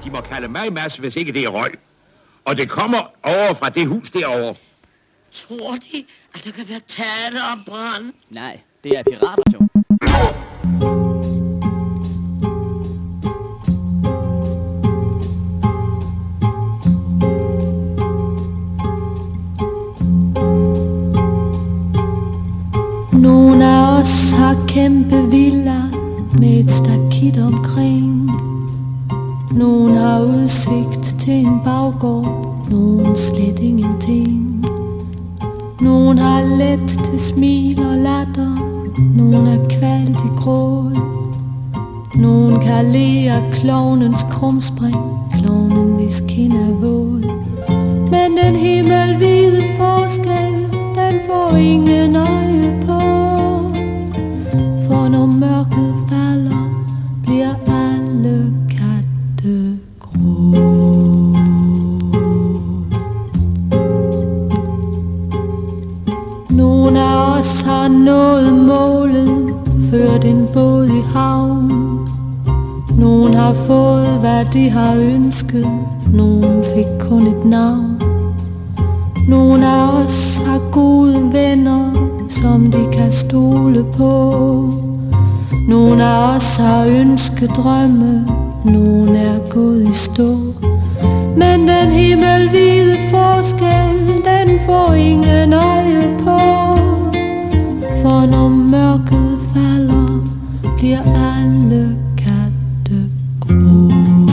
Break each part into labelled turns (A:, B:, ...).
A: De må kalde mig Mads, hvis ikke det er røg. Og det kommer over fra det hus derovre.
B: Tror de, at der kan være tale om brand?
C: Nej, det er pirater, jo.
D: Nogle af os har kæmpe villa med et stakit omkring. Nogle har udsigt til en baggård, nogen slet ingenting. Nogen har let til smil og latter, nogen er kvalt i gråd. Nogen kan le af klovnens krumspring, klovnen hvis kind er våd. Men den himmelvide forskel, den får ingen øje på. For når mørket falder, bliver alle katte grå. Nogle af os har nået målet, ført en båd i havn. Nogen har fået, hvad de har ønsket, nogen fik kun et navn. Nogle af os har gode venner, som de kan stole på. Nogle af os har ønskedrømme, nogen er gået i stå. Men den himmelvide forskel, den får ingen øje på. For når mørket falder, bliver alle katte grå.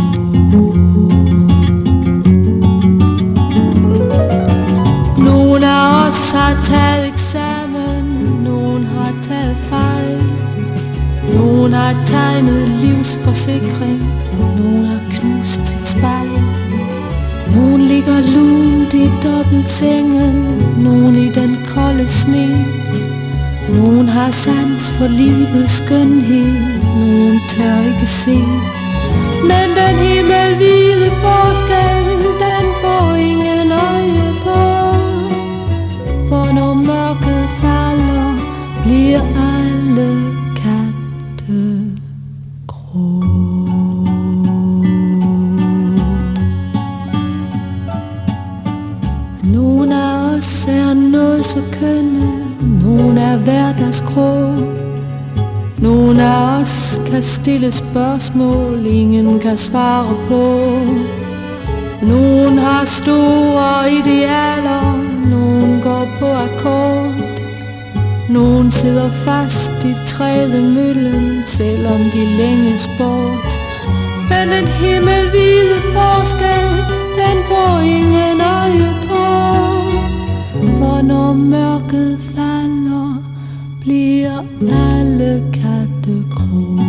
D: Nogle af os har taget eksamen, nogen har taget fejl. Nogen har tegnet livsforsikring, nogen har knust sit spejl. Nogen ligger lunt i dobbeltsengen, nogen i den kolde sne. Nogen har sans for livets skønhed, nogen tør ikke se. Men den himmelvide forskel, den får ingen øje på. For når mørket falder, bliver alle katte grå. Nogle af os er noget så kønne, nogle er hverdagsgrå. Nogle af os kan stille spørgsmål, ingen kan svare på. Nogen har store idealer, nogen går på akkord. Nogen sidder fast i trædemøllen, selvom de længes bort. Men den himmelvide forskel, den får ingen øje på. For når mørket falder, bliver alle katte grå.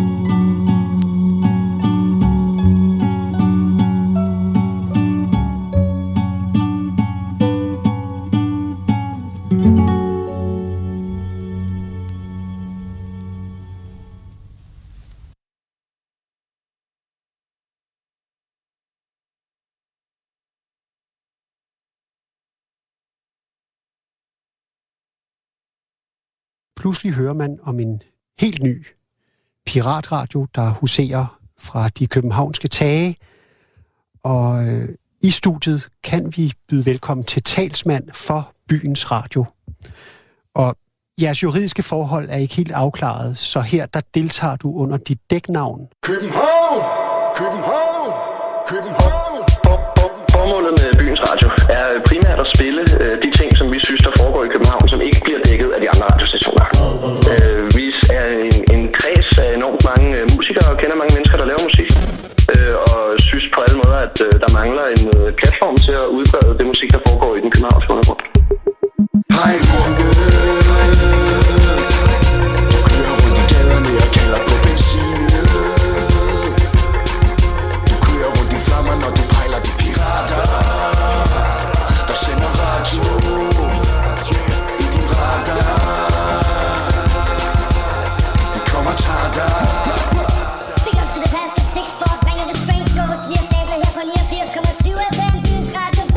E: Pludselig hører man om en helt ny piratradio, der huserer fra de københavnske tage. Og i studiet kan vi byde velkommen til talsmand for byens radio. Og jeres juridiske forhold er ikke helt afklaret, så her der deltager du under dit dæknavn.
F: København! København! København!
G: Formålet med byens radio er primært at spille de ting, som vi synes, der foregår i København, som ikke bliver dækket af de andre radiostationer. Vi er en kreds af enormt mange musikere og kender mange mennesker, der laver musik. Og synes på alle måder, at der mangler en platform til at udbrede det musik, der foregår i den københavnske undergrund.
F: Hej, Runke! Du kører rundt i gaderne og kalder på benzin. Du kører rundt i flammer, når du pejler de pirater, der sender radio i din radar. Vi kommer og tager dig.
H: Big up to the past, it's 6 for bang of a strange ghost. Vi har sablet her på 89,7 FM, byens radio.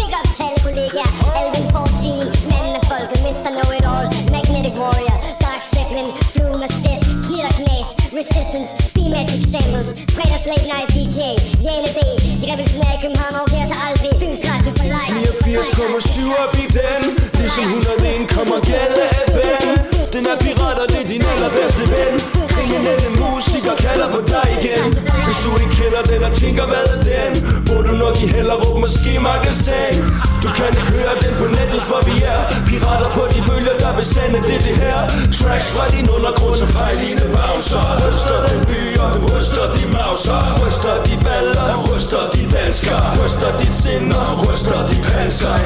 H: Fredags late night DJ, Jane B. De revolutionære i København overgiver sig aldrig. Byens radio for life.
F: 89,7 op i den. Ligesom 101 kommer gade FM. Den er pirater, det er din allerbedste ven. Kriminelle musikere kalder på dig igen. Hvis du ikke kender den og tænker hvad er den, må du nok i Hellerup måske magasin. Du kan ikke høre den på nettet, for vi er pirater på de bølger, der vil sende det her. Tracks fra din undergrund som pejline bouncer. Ryster den by og du ryster de mauser. Ryster de baller, ryster de dansker. Ryster dit sind og ryster de panser.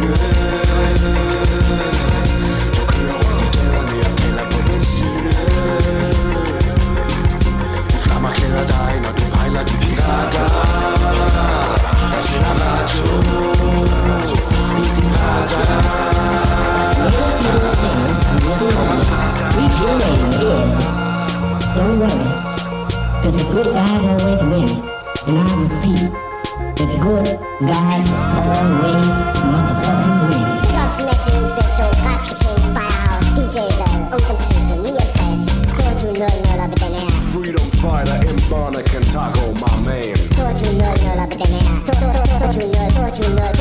F: Du kører rundt i gaderne og kalder på benzine. De flammer klæder dig, når du pejler de pirater. Der sender radio i din radar.
I: Don't worry, cause the good guys always win. And I repeat, the good guys always motherfucking win.
H: Kontinental inspiration, græske penge, Firehouse, DJ-bladet, ungdomshuset, 69, 22.00 op i den her.
F: Freedom fighter, M-Bonner, Cantago, my man.
H: 22.00 op i den her. 22.00 op i den her.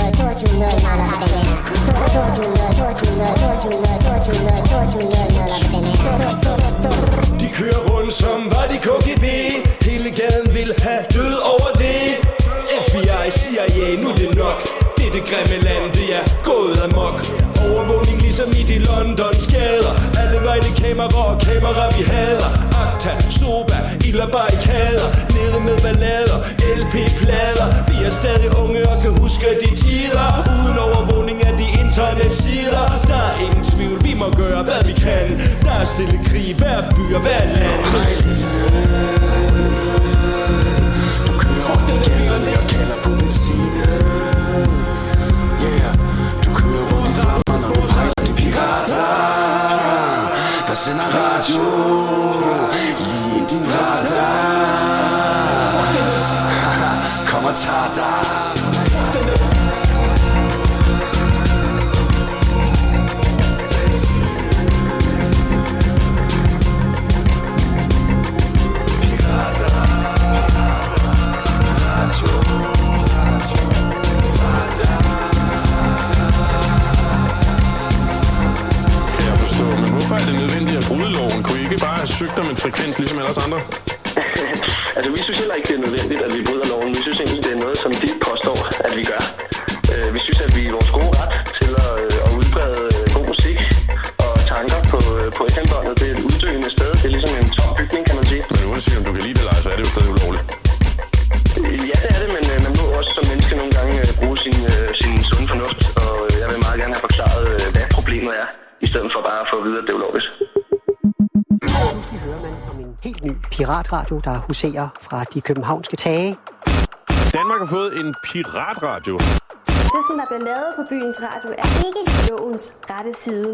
H: 22.00
F: De kører rundt som var de KGB. Hele gaden vil have død over det. FBI, CIA, nu er det nok. Det er det grimme land, det er gået amok. Overvågning ligesom i de Londons gader. Alle vegne kamera vi hader. Akta, Soba, ild og barrikader. Nede med ballader, LP-plader. Vi er stadig unge og kan huske de tider. Uden overvågning af de internetsider. Der er ingen tvivl, vi må gøre hvad vi kan. Der er stille krig, hver by og hver land. Du kører rundt i gaderne og kalder på benzine. Yeah, du kører rundt i flammer, når du pejler de pirater. Der sender radio lige i din radar. Kom og tag dig.
J: Hvorfor er det nødvendigt at bryde loven? Kunne I ikke bare have søgt om en frekvens ligesom ellers andre?
G: Altså, vi synes heller ikke, det er nødvendigt, at vi bryder loven. Vi synes egentlig, det er noget, som de påstår, at vi gør. Vi synes, at vi er i vores gode ret til at udbrede god musik og tanker på FM-båndet. Det er et uddøende sted. Det er ligesom en tom bygning, kan man sige.
J: Men uanset om du kan lide det eller ej, så er det jo stadig ulovligt.
G: Ja, det er det, men man må også som menneske nogle gange bruge sin sunde fornuft. Og jeg vil meget gerne have forklaret, hvad problemet er, i stedet for bare at få at vide, at det er ulovligt.
E: Pludselig hører man om en helt ny piratradio, der huserer fra de københavnske tage.
J: Danmark har fået en piratradio.
K: Det, som der bliver lavet på byens radio, er ikke lovens rette side.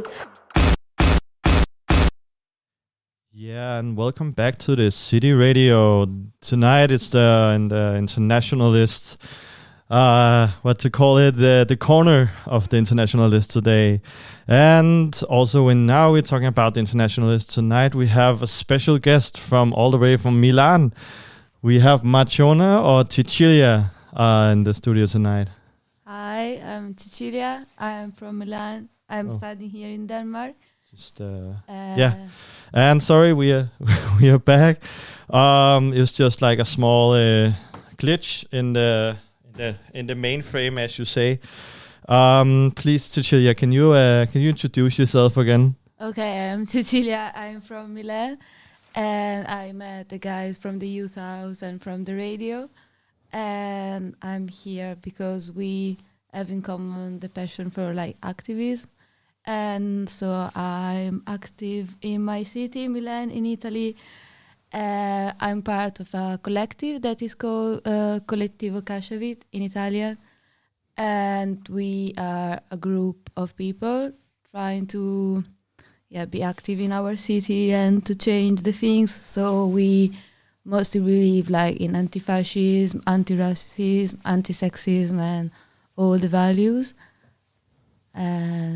L: Yeah, and welcome back to the City Radio. Tonight it's the internationalist, what to call it, the corner of the internationalist today. And also now we're talking about the internationalist. Tonight we have a special guest from all the way from Milan. We have Marciona or Cecilia in the studio tonight.
M: Hi, I'm Cecilia. I'm from Milan. I'm studying here in Denmark.
L: Yeah, and sorry, we are back. It was just like a small glitch in the mainframe, as you say. Please, Cecilia, can you introduce yourself again?
M: Okay, I'm Cecilia. I'm from Milan, and I met the guys from the youth house and from the radio, and I'm here because we have in common the passion for like activism. And so I'm active in my city, Milan, in Italy. I'm part of a collective that is called Collettivo Casciavit in Italian. And we are a group of people trying to be active in our city and to change the things. So we mostly believe like in anti-fascism, anti-racism, anti-sexism and all the values.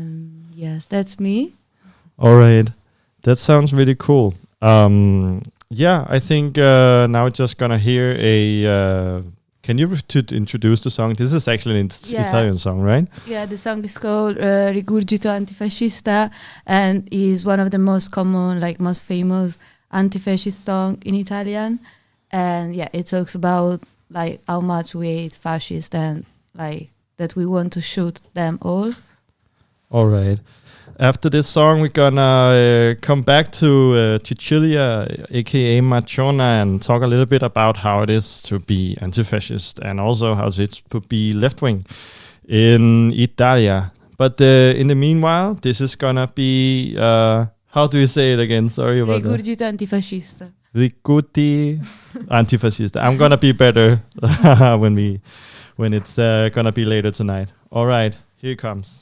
M: Yes, that's me.
L: All right, that sounds really cool. Yeah, I think now we're just gonna hear a. Can you introduce the song? This is actually an Italian song, right?
M: Yeah, the song is called Rigurgito Antifascista, and is one of the most common, like most famous anti-fascist song in Italian. And yeah, it talks about like how much we hate fascists and like that we want to shoot them all.
L: All right. After this song, we're gonna come back to Cecilia, aka Machona, and talk a little bit about how it is to be anti-fascist and also how it is to be left-wing in Italia. But in the meanwhile, this is gonna be how do you say it again? Sorry about that.
M: Rigurgito Antifascista.
L: Rigurgito Antifascista. I'm gonna be better when it's gonna be later tonight. All right, here it comes.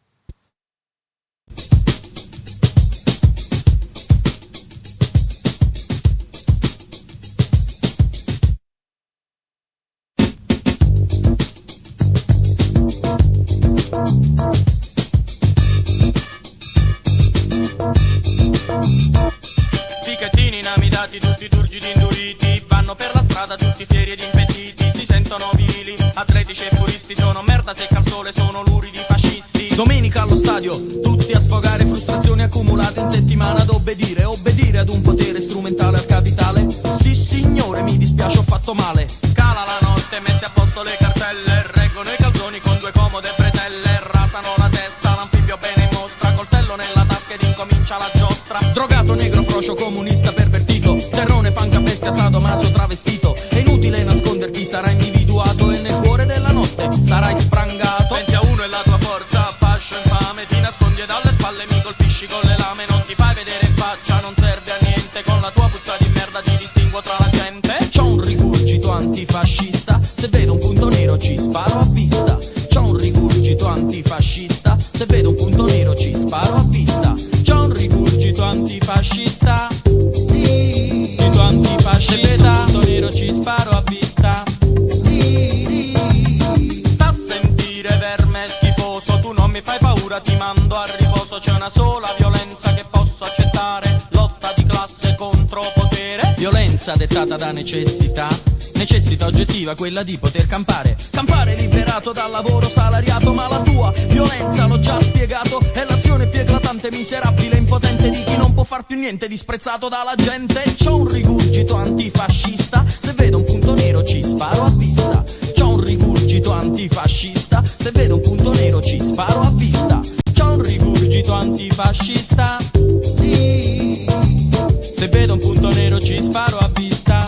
N: Ficchettini inamidati, tutti turgidi induriti, vanno per la strada tutti fieri ed impettiti, si sentono virili, atletici e puristi, sono merda secca al sole, sono luridi fascisti. Domenica allo stadio, tutti a sfogare frustrazioni accumulate in settimana ad obbedire ad un potere strumentale al capitale. Sì signore, mi dispiace, ho fatto male. Cala la notte, mette a posto le cartelle, reggono i calzoni con due comode bretelle, rasano la testa, l'anfibio bene in mostra, coltello nella tasca ed incomincia la giostra. Drogato, negro, frocio, comunista, pervertito, terrone, panca, bestia, sadomaso, travestito. È inutile nasconderti, sarai individuato e nel cuore della notte sarai sprangato. 20 a 1 è la tua forza, fascio infame, ti nascondi dalle spalle, mi colpisci con le lame, non ti fai vedere in faccia, non serve a niente, con la tua puzza di merda ti distinguo tra la gente. C'ho un rigurgito antifascista, se vedo un punto nero ci sparo a vista. C'ho un rigurgito antifascista, se vedo un punto nero ci sparo a vista. C'ho un rigurgito antifascista, rigurgito antifascista, se vedo un punto nero ci sparo a vista. Sta a sentire verme schifoso, tu non mi fai paura, ti mando a riposo. C'è una sola violenza che posso accettare, lotta di classe contro potere. Violenza dettata da necessità oggettiva, quella di poter campare liberato dal lavoro salariato. Ma la tua violenza, l'ho già spiegato, è l'azione più eclatante, miserabile, impotente di chi non può far più niente, disprezzato dalla gente. C'ho un rigurgito antifascista, se vedo un punto nero ci sparo a vista. C'ho un rigurgito antifascista, se vedo un punto nero ci sparo a vista. C'ho un rigurgito antifascista, se vedo un punto nero ci sparo a vista.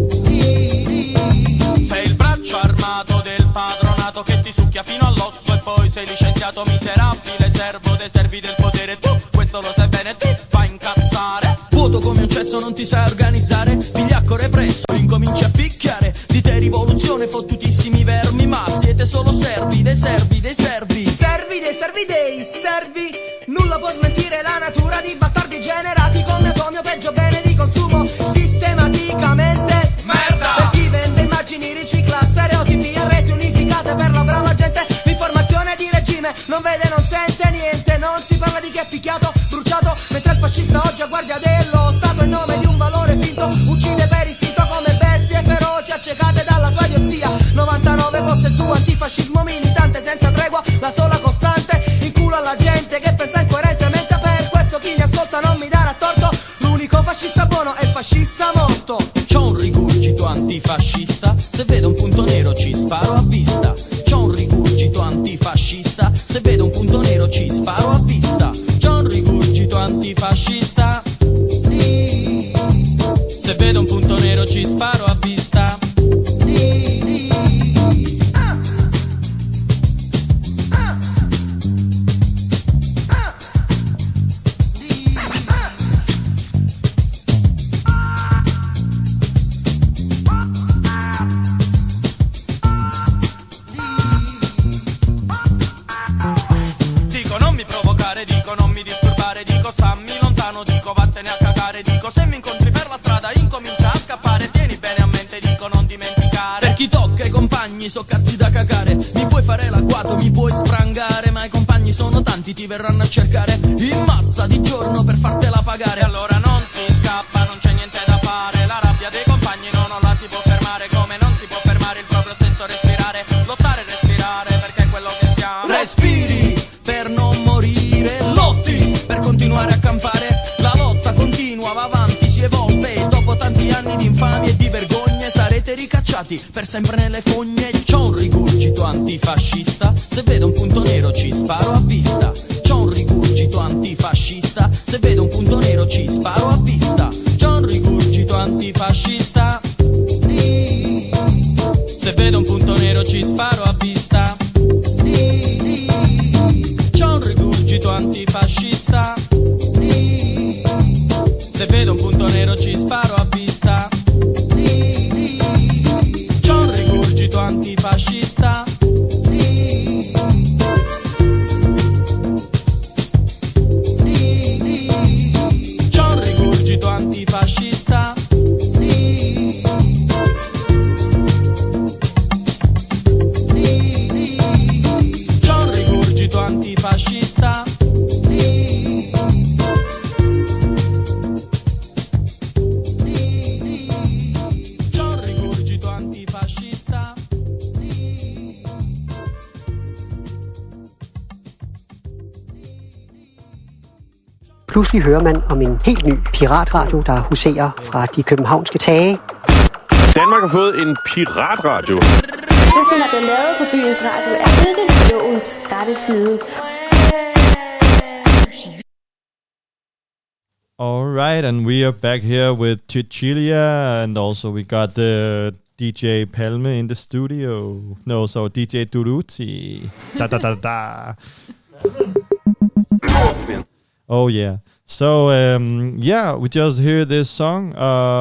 N: Sei il braccio armato del padronato che ti succhia fino all'osso e poi sei licenziato miserabile, servo dei servi del potere. Tu questo lo sai bene, ti fai incazzare. Vuoto come un cesso, non ti sai organizzare, vigliacco represso, incominci a picchiare. Di te rivoluzione, fottutissimi vermi, ma siete solo servi dei servi dei servi. Servi dei servi dei servi. Nulla può smentire la natura di bastardi generati come atomi o peggio bene di consumo sistematicamente. Merda! Per chi vende immagini, ricicla stereotipi a reti unificate per la brava gente. L'informazione di regime non vede, non sente niente, non si parla di chi è picchiato, bruciato, mentre il fascista oggi a guardia dello Stato in nome di un valore finto uccide per istinto come bestie feroci accecate dalla sua idiozia. 99 poste su antifascismo militante senza tregua, la sola costante, in culo alla gente che pensa incoerentemente. Per questo chi mi ascolta non mi darà torto, l'unico fascista buono è il fascista morto. C'ho un rigurgito antifascista, se vedo un punto nero ci sparo a vista. C'ho un rigurgito antifascista, se vedo un punto nero ci sparo a vista. C'ho un rigurgito antifascista, se vedo un punto nero ci sparo a vista. Dico non mi provocare, dico non mi disturbare, dico stammi lontano, dico vattene a cagare, dico se mi incontri per la strada incomincia a scappare, tieni bene a mente, dico non dimenticare. Per chi tocca i compagni so cazzi da cagare, mi puoi fare l'agguato, mi puoi sprangare, ma i compagni sono tanti, ti verranno a cercare in massa di giorno per fartela pagare. E allora non si scappa, non c'è niente da fare, fare come non si può fermare il proprio stesso respirare, lottare e respirare perché è quello che siamo. Respiri per non morire, lotti per continuare a campare, la lotta continua, va avanti, si evolve, dopo tanti anni di infamie e di vergogne sarete ricacciati per sempre nelle fogne. C'ho un rigurgito antifascista, se vedo un punto nero ci sparo a vista. C'ho un rigurgito antifascista, se vedo un punto nero ci sparo a vista. C'ho un rigurgito antifascista, se vedo un punto nero ci sparo a vista. C'ho un rigurgito antifascista, se vedo un punto nero ci sparo a vista. C'ho un rigurgito antifascista, c'ho un rigurgito antifascista, c'ho un rigurgito antifascista.
E: Pludselig hører man om en helt ny piratradio, der huserer fra de københavnske tage.
J: Danmark har fået en piratradio.
K: Det, som er blevet lavet på byens radio, er ikke lovens rette side.
L: All right, and we are back here with Cecilia, and also we got the DJ Palme in the studio. No, so DJ Duruti. Da da da da. Oh yeah. So yeah, we just hear this song.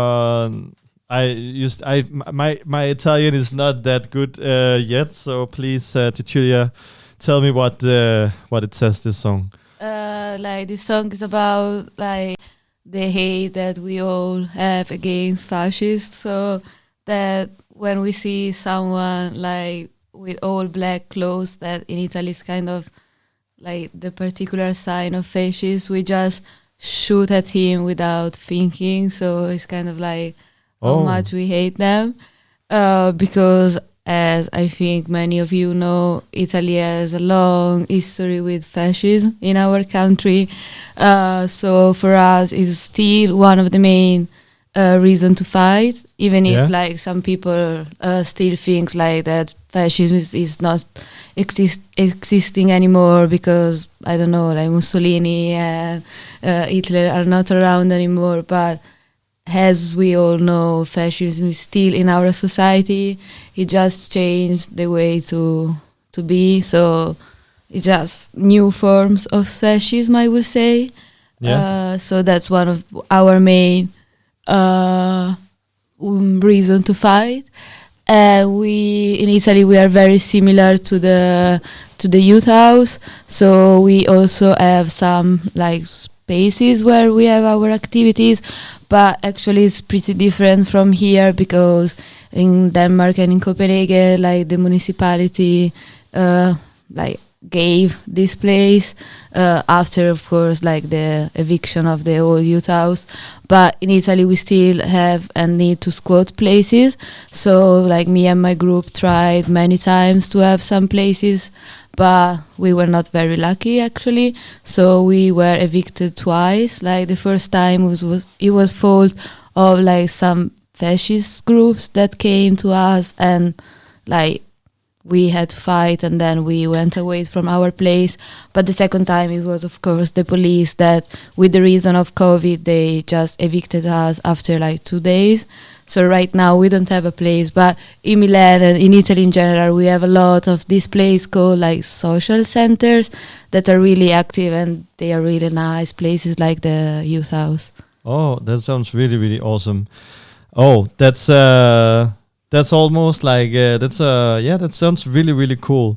L: My Italian is not that good yet, so please, Cecilia, tell me what it says. This song.
M: Like this song is about like the hate that we all have against fascists. So that when we see someone like with all black clothes, that in Italy is kind of like the particular sign of fascists, we just shoot at him without thinking. So it's kind of like how much we hate them. Because as I think many of you know, Italy has a long history with fascism in our country. So for us, it's still one of the main reason to fight, even if like some people still think like that fascism is not existing anymore because, I don't know, like Mussolini and Hitler are not around anymore. But as we all know, fascism is still in our society. It just changed the way to be. So it's just new forms of fascism, I would say. Yeah. So that's one of our main reason to fight. We in Italy, we are very similar to the youth house. So we also have some like spaces where we have our activities, but actually it's pretty different from here because in Denmark and in Copenhagen, like the municipality like gave this place after, of course, like the eviction of the old youth house. But in Italy, we still have and need to squat places. So like me and my group tried many times to have some places, but we were not very lucky actually. So we were evicted twice. Like the first time it was fault of like some fascist groups that came to us, and like we had to fight, and then we went away from our place. But the second time it was, of course, the police that, with the reason of COVID, they just evicted us after like 2 days. So right now we don't have a place, but in Milan and in Italy in general, we have a lot of this place called like social centers that are really active, and they are really nice places like the youth house.
L: Oh, that sounds really, really awesome. Oh, that's almost like that sounds really, really cool.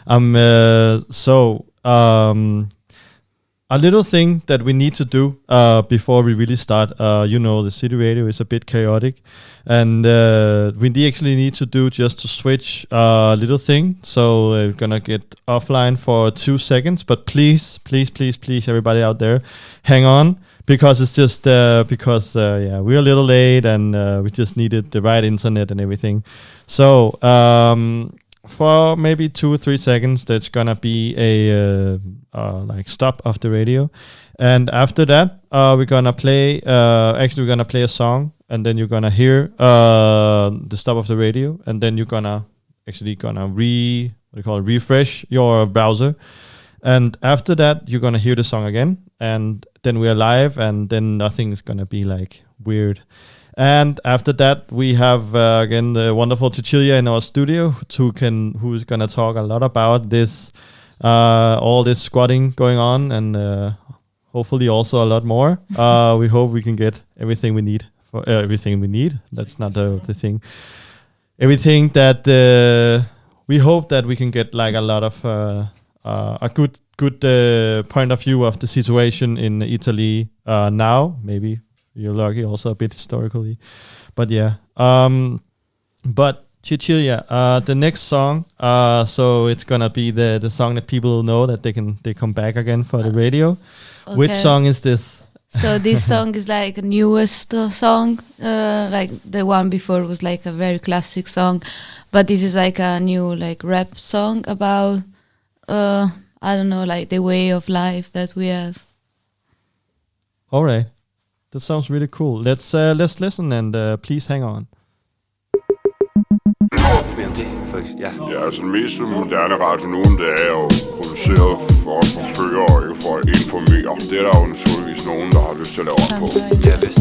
L: A little thing that we need to do before we really start. The City Radio is a bit chaotic, and we actually need to do just to switch a little thing. So we're gonna get offline for 2 seconds, but please, everybody out there, hang on, because it's just because we're a little late and we just needed the right internet and everything. So for maybe 2 or 3 seconds, there's gonna be a like stop of the radio, and after that, we're gonna play. Actually, we're gonna play a song, and then you're gonna hear the stop of the radio, and then you're gonna refresh your browser, and after that, you're gonna hear the song again, and then we are live, and then nothing is gonna be like weird. And after that, we have again the wonderful Cecilia in our studio, who's gonna talk a lot about this, all this squatting going on, and hopefully also a lot more. We hope we can get everything we need for everything we need. That's not the thing. Everything that we hope that we can get like a lot of a good point of view of the situation in Italy now. Maybe you're lucky, also a bit historically, but yeah. But Cecilia, the next song, so it's gonna be the song that people know that they come back again for the radio. Okay. Which song is this?
M: So this song is like a newest song. Like the one before was like a very classic song, but this is like a new like rap song about I don't know, like the way of life that we have.
L: All right, that sounds really cool. Let's listen and please hang on.
O: Ja, altså den mest moderne radio nu, det er jo produceret for at forføre og ikke for at informere. Det er der jo naturligvis nogen, der har lyst til at lave op på. Ja, vist.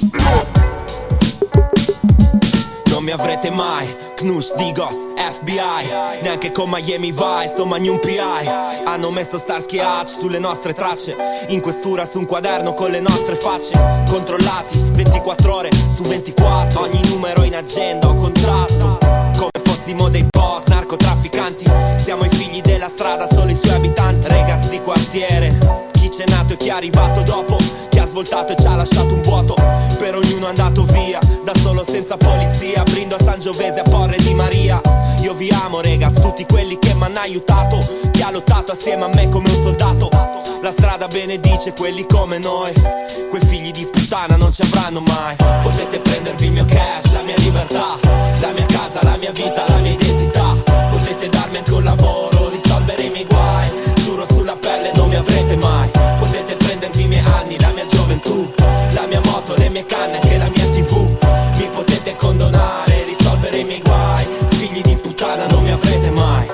F: Non mi avrete mai, Knush, Digos, FBI, neanche con Miami Vice o Magnum PI. Hanno messo Starsky Hutch sulle nostre tracce, in questura su un quaderno con le nostre facce. Controllati 24 ore su 24, ogni numero in agenda o contratto. Come fossimo dei boss, narcotrafficanti. Siamo i figli della strada, solo i suoi abitanti. Ragazzi di quartiere, chi c'è nato e chi è arrivato dopo, chi ha svoltato e ci ha lasciato un vuoto. Per ognuno è andato via, da solo senza polizia. Brindo a Sangiovese, a Porre di Maria. Io vi amo ragazzi, tutti quelli che m'hanno aiutato, chi ha lottato assieme a me come un soldato. La strada benedice quelli come noi, quei figli di puttana non ci avranno mai. Potete prendervi il mio cash, la mia libertà, la mia casa, la mia vita, la mia identità. Potete darmi anche un lavoro, risolvere i miei guai. Giuro sulla pelle non mi avrete mai. Potete prendervi i miei anni, la mia gioventù, la mia moto, le mie canne, anche la mia TV. Mi potete condonare, risolvere i miei guai. Figli di puttana non mi avrete mai.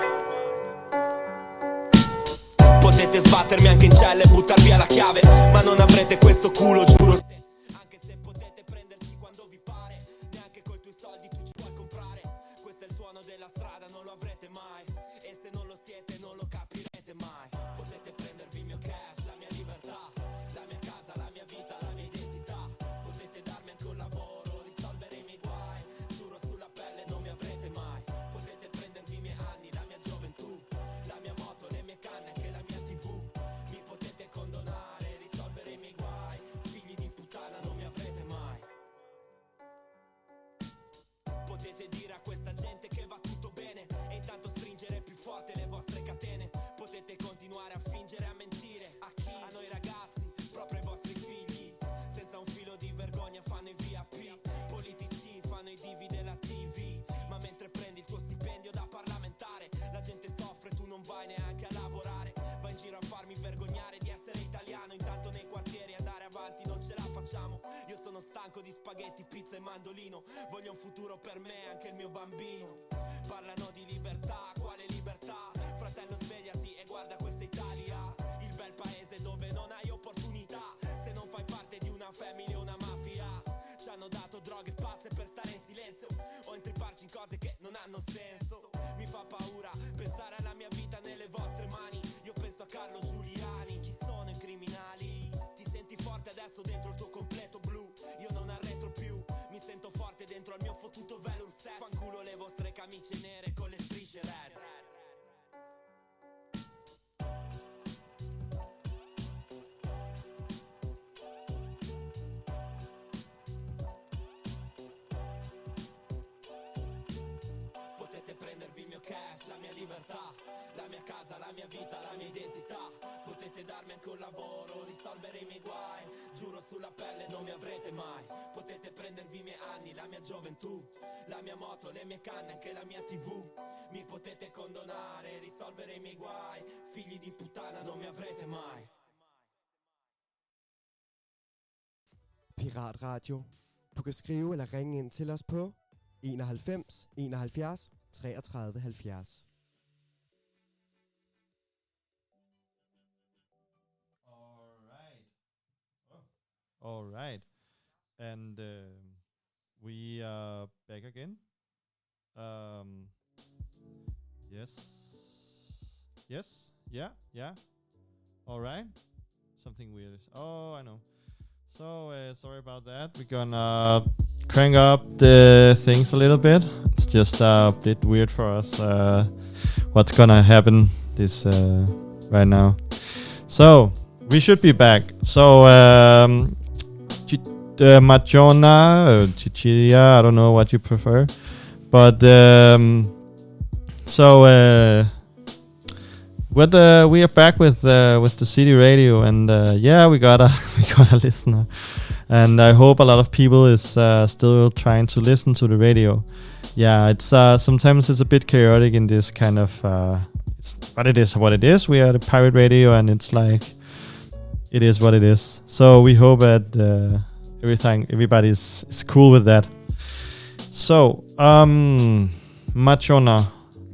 F: Potete sbattermi anche in cella e buttar via la chiave, ma non avrete questo culo, giuro. Anche se potete prenderci quando vi pare, neanche coi tuoi soldi tu ci puoi comprare. Questo è il suono della strada, non lo avrete mai. E se non lo siete non lo capirete mai. Potete prendervi il mio cash, la mia libertà, la mia casa, la mia vita, la mia identità. Potete darmi anche un lavoro, risolvere i miei guai. Giuro sulla pelle non mi avrete mai. Potete prendervi i miei anni, la mia gioventù, la mia moto, le mie canne, anche la mia TV. Mi potete condonare, risolvere i miei guai. Figli di puttana non mi avrete mai. Potete dire a questa gente che va tutto bene e intanto stringere più forte le vostre catene. Potete continuare a fingere, a mentire. A chi? A noi ragazzi, proprio ai vostri figli. Senza un filo di vergogna fanno i VIP. Politici fanno i divi della TV. Ma mentre prendi il tuo stipendio da parlamentare, la gente soffre, tu non vai neanche a lavorare. Vai in giro a farmi vergognare di essere italiano. Intanto nei quartieri andare avanti non ce la facciamo. Io sono stanco di spaghetti, pizza e mandolino. Voglio un futuro per me e anche il mio bambino. Parlano di libertà, quale libertà? Fratello svegliati e guarda questa Italia, il bel paese dove non hai opportunità. Se non fai parte di una famiglia o una mafia, ci hanno dato droghe pazze per stare in silenzio o intripparci in cose che non hanno senso. Mi fa paura pensare alla mia vita nelle vostre mani. Io penso a Carlo Giuliani, chi sono i criminali? Ti senti forte adesso dentro il tuo completo blu. Io non arretro più, mi sento forte dentro al mio fottuto velour set. Fanculo le vostre camicie nere con le strisce red. Potete prendervi il mio cash, la mia libertà, la mia casa, la mia vita, la mia identità. Potete darmi anche un lavoro, risolvere i miei guai. Giuro sulla pelle non mi avrete mai. Potete prendervi i miei anni, la mia gioventù, la mia moto, le mie canne, anche la mia TV. Mi potete condonare, risolvere i miei guai. Figli di puttana non mi avrete mai.
P: Piratradio. Du kan skrive eller ringe ind til os på 91 71 33 70.
L: All right. And we are back again. Yes. Yeah. All right. Something weird. Oh, I know. So, sorry about that. We're gonna crank up the things a little bit. It's just a bit weird for us. What's gonna happen this right now? So, we should be back. So, Machona or Chichiria, I don't know what you prefer. But, we are back with the City Radio, and we got a listener, and I hope a lot of people is still trying to listen to the radio. Yeah, it's sometimes it's a bit chaotic in this kind of, but it is what it is. We are the pirate radio, and it's like it is what it is. So we hope that everybody's is cool with that. So Machona,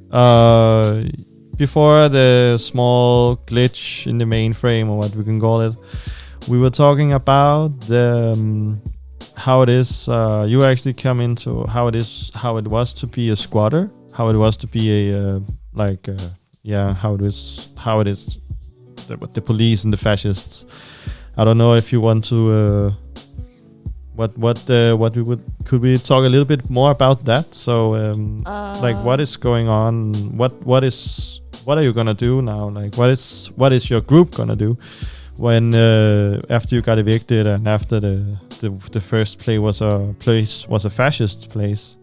L: before the small glitch in the mainframe, or what we can call it, we were talking about how it is. You actually come into how it was to be a squatter, how it was to be how it is with the police and the fascists. I don't know if you want to. Could we talk a little bit more about that? So, what is going on? What are you gonna do now? Like, what is your group gonna do when after you got evicted and after the first place was a fascist place?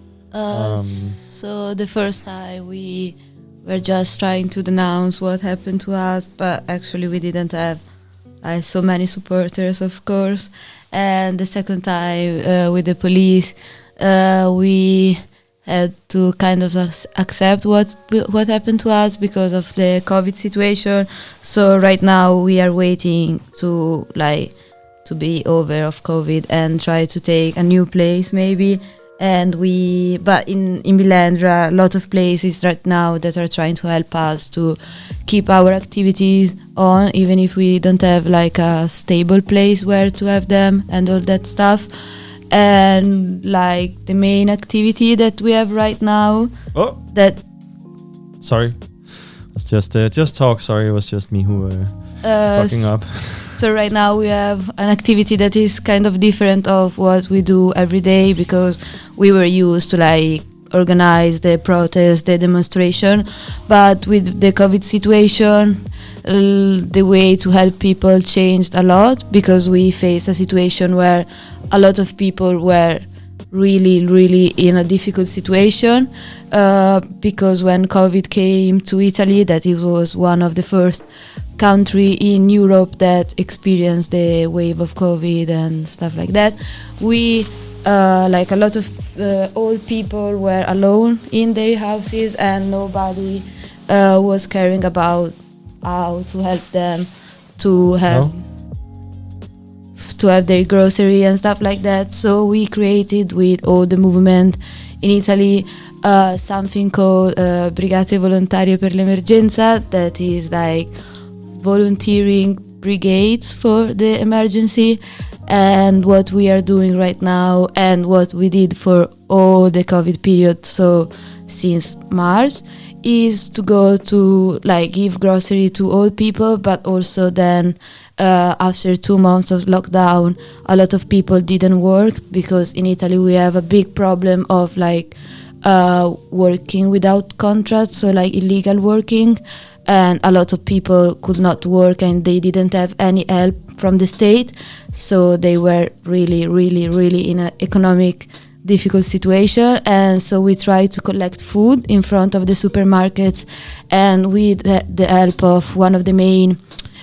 M: So the first time we were just trying to denounce what happened to us, but actually we didn't have so many supporters, of course. And the second time with the police, we had to kind of accept what happened to us because of the COVID situation. So right now we are waiting to be over of COVID and try to take a new place maybe. But in Milan there are a lot of places right now that are trying to help us to keep our activities on, even if we don't have like a stable place where to have them and all that stuff. And like the main activity that we have right now.
L: Sorry, it's just talk. Sorry, it was just me who fucking up.
M: So right now we have an activity that is kind of different of what we do every day, because we were used to organize the protest, the demonstration, but with the COVID situation, the way to help people changed a lot, because we faced a situation where a lot of people were really, really in a difficult situation, because when COVID came to Italy, that it was one of the first country in Europe that experienced the wave of COVID and stuff like that. We a lot of old people were alone in their houses, and nobody was caring about how to help them to have their grocery and stuff like that. So we created with all the movement in Italy something called Brigate Volontarie per l'Emergenza, that is like volunteering brigades for the emergency. And what we are doing right now, and what we did for all the COVID period, so since March, is to go to give grocery to all people, but also then after 2 months of lockdown, a lot of people didn't work, because in Italy we have a big problem of working without contracts, so illegal working, and a lot of people could not work and they didn't have any help from the state, so they were really, really, really in an economic difficult situation. And so we tried to collect food in front of the supermarkets, and with the help of one of the main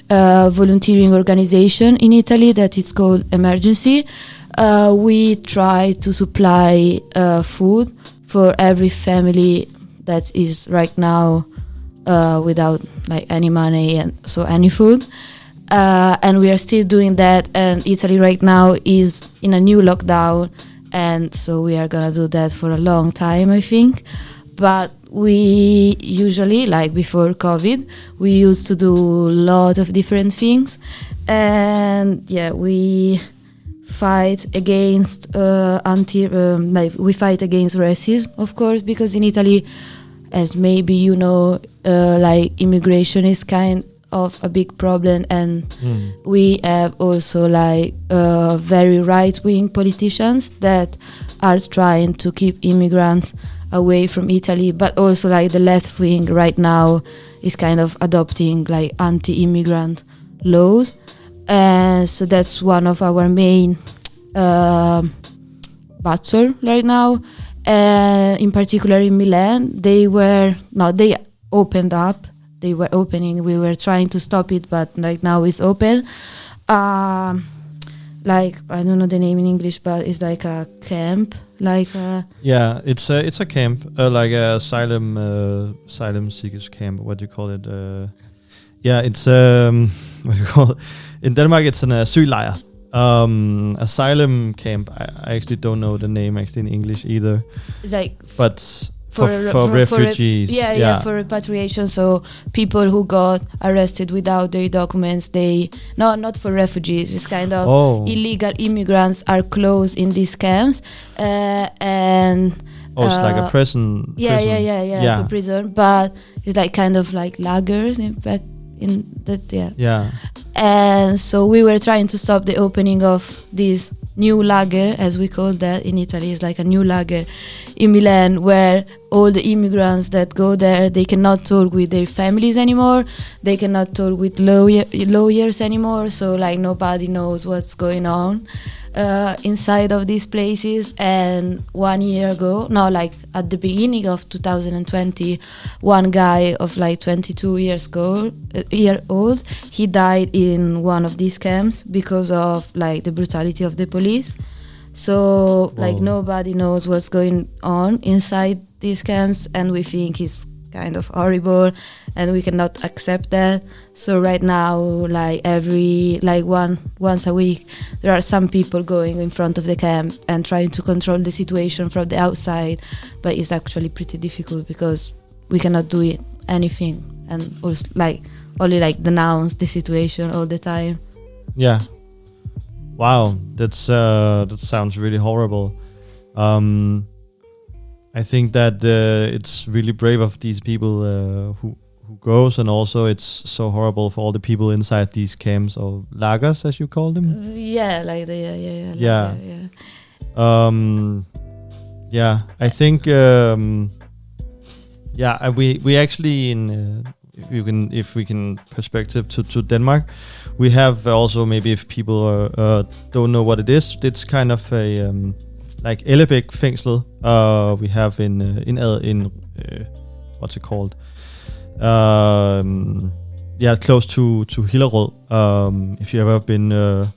M: volunteering organization in Italy that is called Emergency. We try to supply food for every family that is right now without like any money and so any food. And we are still doing that, and Italy right now is in a new lockdown, and so we are gonna do that for a long time, I think. But we usually, like before COVID, we used to do a lot of different things, and yeah, we fight against we fight against racism, of course, because in Italy, as maybe you know, like immigration is kind of a big problem, and we have also like very right-wing politicians that are trying to keep immigrants away from Italy, but also like the left wing right now is kind of adopting like anti-immigrant laws, and so that's one of our main battle right now. In particular in Milan, they opened up. They were opening. We were trying to stop it, but right now it's open. Like I don't know the name in English, but it's like a camp.
L: Yeah, it's a camp, like a asylum seekers camp. What do you call it? Yeah, it's what do you call it? In Denmark, it's an asyllejr. Asylum camp. I actually don't know the name actually in English either.
M: It's like,
L: but for refugees,
M: for repatriation. So people who got arrested without their documents, not for refugees. It's kind of illegal immigrants are closed in these camps, and
L: it's like a prison.
M: Yeah, like a prison, but it's like kind of like lagers in fact. And so we were trying to stop the opening of this new lager, as we call that in Italy. It's like a new lager in Milan, where all the immigrants that go there, they cannot talk with their families anymore, they cannot talk with lawyers anymore, so like nobody knows what's going on inside of these places. And 1 year ago, at the beginning of 2020, one guy of like 22 years old, he died in one of these camps because of like the brutality of the police. So like nobody knows what's going on inside these camps, and we think it's kind of horrible, and we cannot accept that. So right now, once a week, there are some people going in front of the camp and trying to control the situation from the outside, but it's actually pretty difficult because we cannot do anything, and also only denounce the situation all the time.
L: Yeah. Wow, that sounds really horrible. I think that it's really brave of these people who goes, and also it's so horrible for all the people inside these camps, or lagers as you call them. I think we actually if we can perspective to Denmark, we have also, maybe if people don't know what it is, it's kind of a like Ellebæk fængslet. We have in what's it called? Close to Hillerød. If you ever been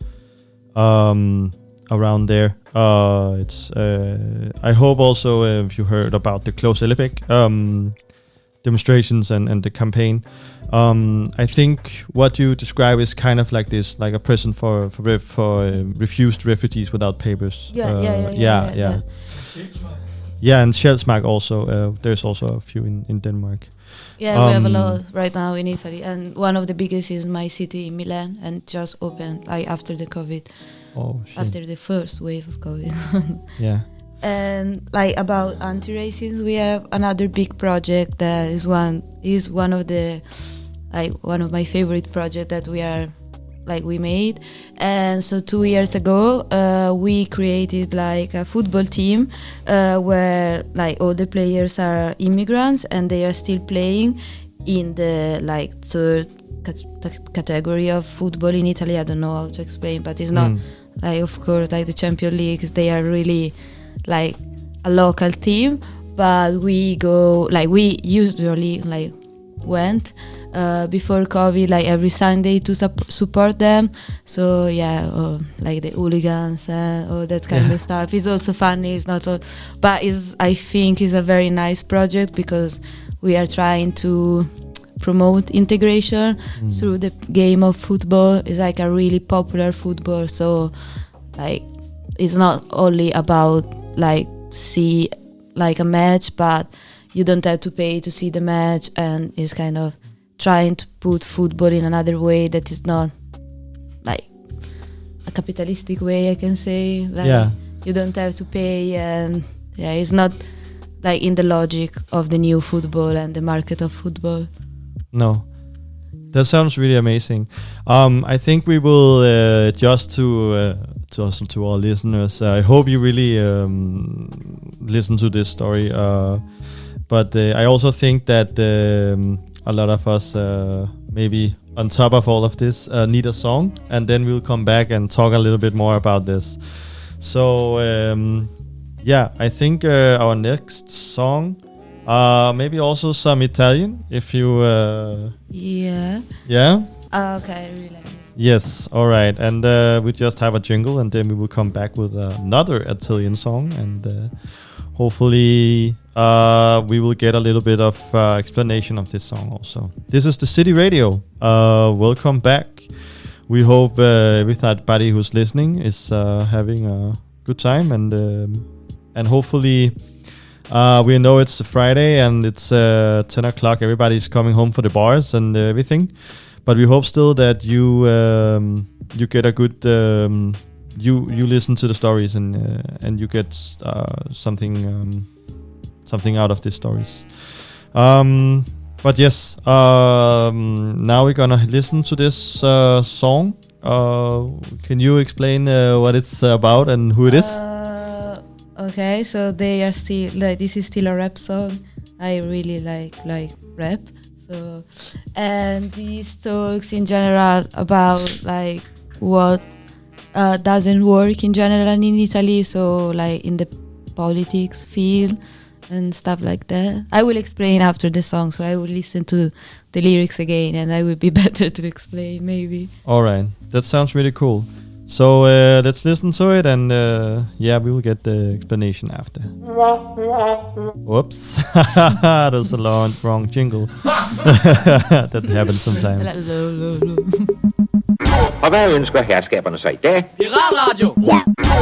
L: around there, it's. I hope also if you heard about the Close Ellebæk demonstrations and the campaign. I think what you describe is kind of like this, like a prison for refused refugees without papers. Yeah, and Sjælsmark also. There's also a few in Denmark.
M: Yeah, we have a lot right now in Italy, and one of the biggest is my city, Milan, and just opened after the COVID.
L: Oh, shit.
M: After the first wave of COVID.
L: Yeah.
M: And about anti-racism, we have another big project that is one of the one of my favorite projects that we made. And so 2 years ago, we created a football team where all the players are immigrants, and they are still playing in the third category of football in Italy. I don't know how to explain, but it's not of course the Champions Leagues. They are really a local team, but we go we usually went before COVID, like every Sunday to support them. So yeah, like the hooligans and all that kind of stuff. It's also funny. It's not all, but I think it's a very nice project because we are trying to promote integration through the game of football. It's like a really popular football, so like it's not only about like see like a match, but you don't have to pay to see the match, and it's kind of trying to put football in another way that is not like a capitalistic way, I can say. Like you don't have to pay, and it's not like in the logic of the new football and the market of football.
L: No, that sounds really amazing. I think we will just to our listeners. I hope you really listen to this story. But I also think that a lot of us, maybe on top of all of this, need a song, and then we'll come back and talk a little bit more about this. So I think our next song. Maybe also some Italian, if you...
M: Yeah? Okay, I really like this.
L: Yes, all right. And we just have a jingle, and then we will come back with another Italian song, and hopefully we will get a little bit of explanation of this song also. This is the City Radio. Welcome back. We hope everybody who's listening is having a good time, and hopefully... we know it's a Friday and it's 10 o'clock. Everybody's coming home for the bars and everything. But we hope still that you get a good... you listen to the stories and you get something out of these stories. But yes, now we're gonna listen to this song. Can you explain what it's about and who it is?
M: Okay, so they are still like, this is still a rap song. I really like rap. So, and these talks in general about like what doesn't work in general in Italy. So like in the politics field and stuff like that. I will explain after the song. So I will listen to the lyrics again, and I will be better to explain maybe.
L: All right, that sounds really cool. So let's listen to it, and we will get the explanation after. Whoops, that was a wrong jingle. That happens sometimes.
A: Og hvad ønsker herskaberne så i dag?
C: Piratradio!
A: Ja.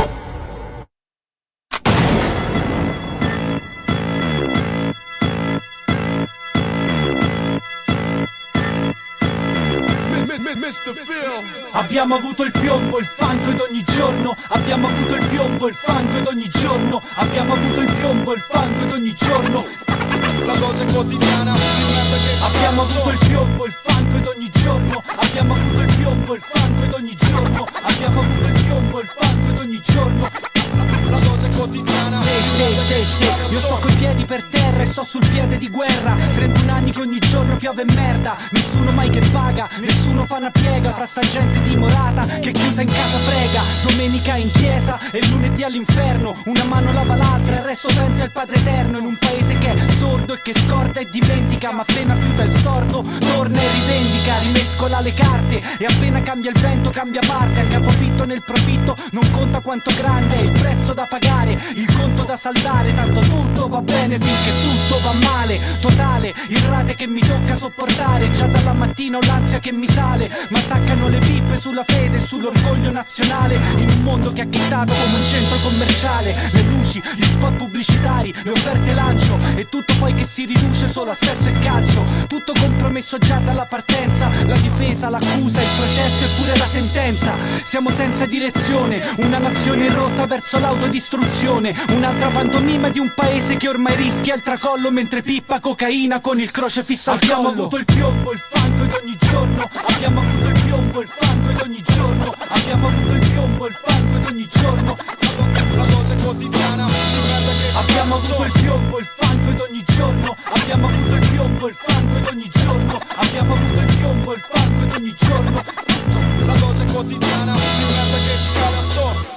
Q: Abbiamo avuto il piombo, il fango ed ogni giorno. Abbiamo avuto il piombo, il fango ed ogni giorno. Abbiamo avuto il piombo, il fango ed ogni giorno. La cosa è quotidiana. Abbiamo avuto il piombo, il fango ed ogni giorno. Abbiamo avuto il piombo, il fango ed ogni giorno. Abbiamo avuto il piombo, il fango ed ogni giorno. La cosa è quotidiana. Sì. Io sto coi piedi per terra e sto sul piede di guerra. 31 anni che ogni giorno piove merda. Nessuno mai che paga, nessuno fa una piega. Fra sta gente dimorata che chiusa in casa prega. Domenica in chiesa e lunedì all'inferno. Una mano lava l'altra, il resto pensa al Padre Eterno. In un paese che è sordo e che scorda e dimentica. Ma appena fiuta il sordo, torna e rivendica. Rimescola le carte e appena cambia il vento cambia parte. A capofitto nel profitto non conta quanto grande è il prezzo da pagare, il conto da saldare. Tanto tutto va bene finché tutto va male. Totale, il rate che mi tocca sopportare. Già dalla mattina ho l'ansia che mi sale. Ma attaccano le pippe sulla fede e sull'orgoglio nazionale. In un mondo che ha chittato come un centro commerciale. Le luci, gli spot pubblicitari, le offerte lancio. E tutto poi che si riduce solo a sesso e calcio. Tutto compromesso già dalla partenza. La difesa, l'accusa, il processo e pure la sentenza. Siamo senza direzione, una nazione rotta verso l'autodistruzione. Un'altra pantomima di un paese che ormai rischia il tracollo. Mentre pippa cocaina con il crocefisso al collo. Abbiamo avuto il piombo, il fango ed ogni giorno. Abbiamo avuto il piombo, il fango ed ogni giorno. Abbiamo avuto il piombo, il fango ed ogni giorno. La cosa è quotidiana. Abbiamo avuto il piombo, il fango ed ogni giorno. Abbiamo avuto il piombo, il fango ed ogni giorno. Abbiamo avuto il piombo, il fango ed ogni giorno. La cosa è quotidiana. Merda che ci cade attorno.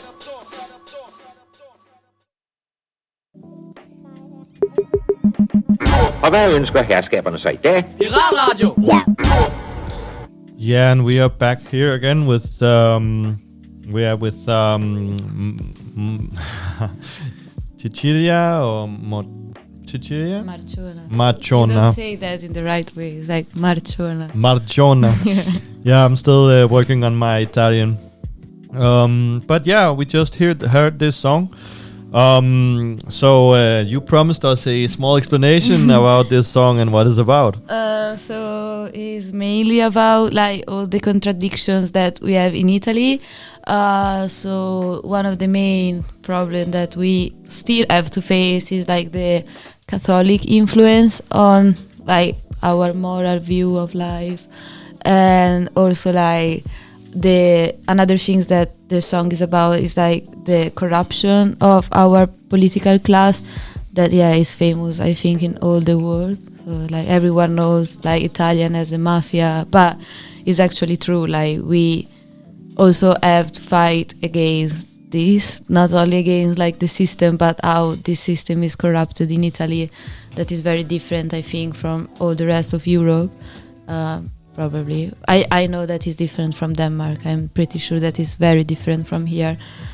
A: Og hvad ønsker herskaberne så i dag?
C: Piratradio!
H: Ja.
L: Yeah, and we are back here again with Cecilia or Cecilia? Marchona.
M: You don't say that in the right way. It's like Marchona.
L: Marchona. Yeah, I'm still working on my Italian. But yeah, we just heard this song. So you promised us a small explanation about this song and what it's about.
M: So it's mainly about like all the contradictions that we have in Italy. So one of the main problems that we still have to face is like the Catholic influence on like our moral view of life, and also like the another things that the song is about is like the corruption of our political class that is famous, I think, in all the world. So like everyone knows like Italian as a mafia, but it's actually true. Like we also have to fight against this, not only against like the system, but how this system is corrupted in Italy. That is very different, I think, from all the rest of Europe. Probably. I know that is different from Denmark. I'm pretty sure that is very different from here.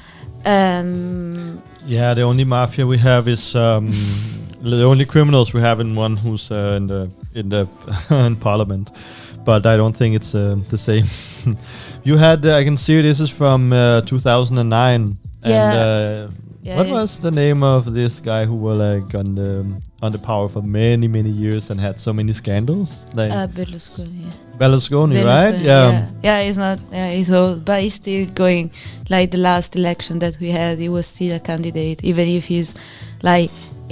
L: Yeah, the only mafia we have is the only criminals we have in one who's in the in parliament. But I don't think it's the same. You had I can see this is from 2009.
M: Yeah.
L: And what was the name of this guy who were like on the power for many years and had so many scandals? Like
M: Berlusconi.
L: Berlusconi, right? Yeah.
M: Yeah, he's not. Yeah, he's old, but he's still going. Like the last election that we had, he was still a candidate, even if he's like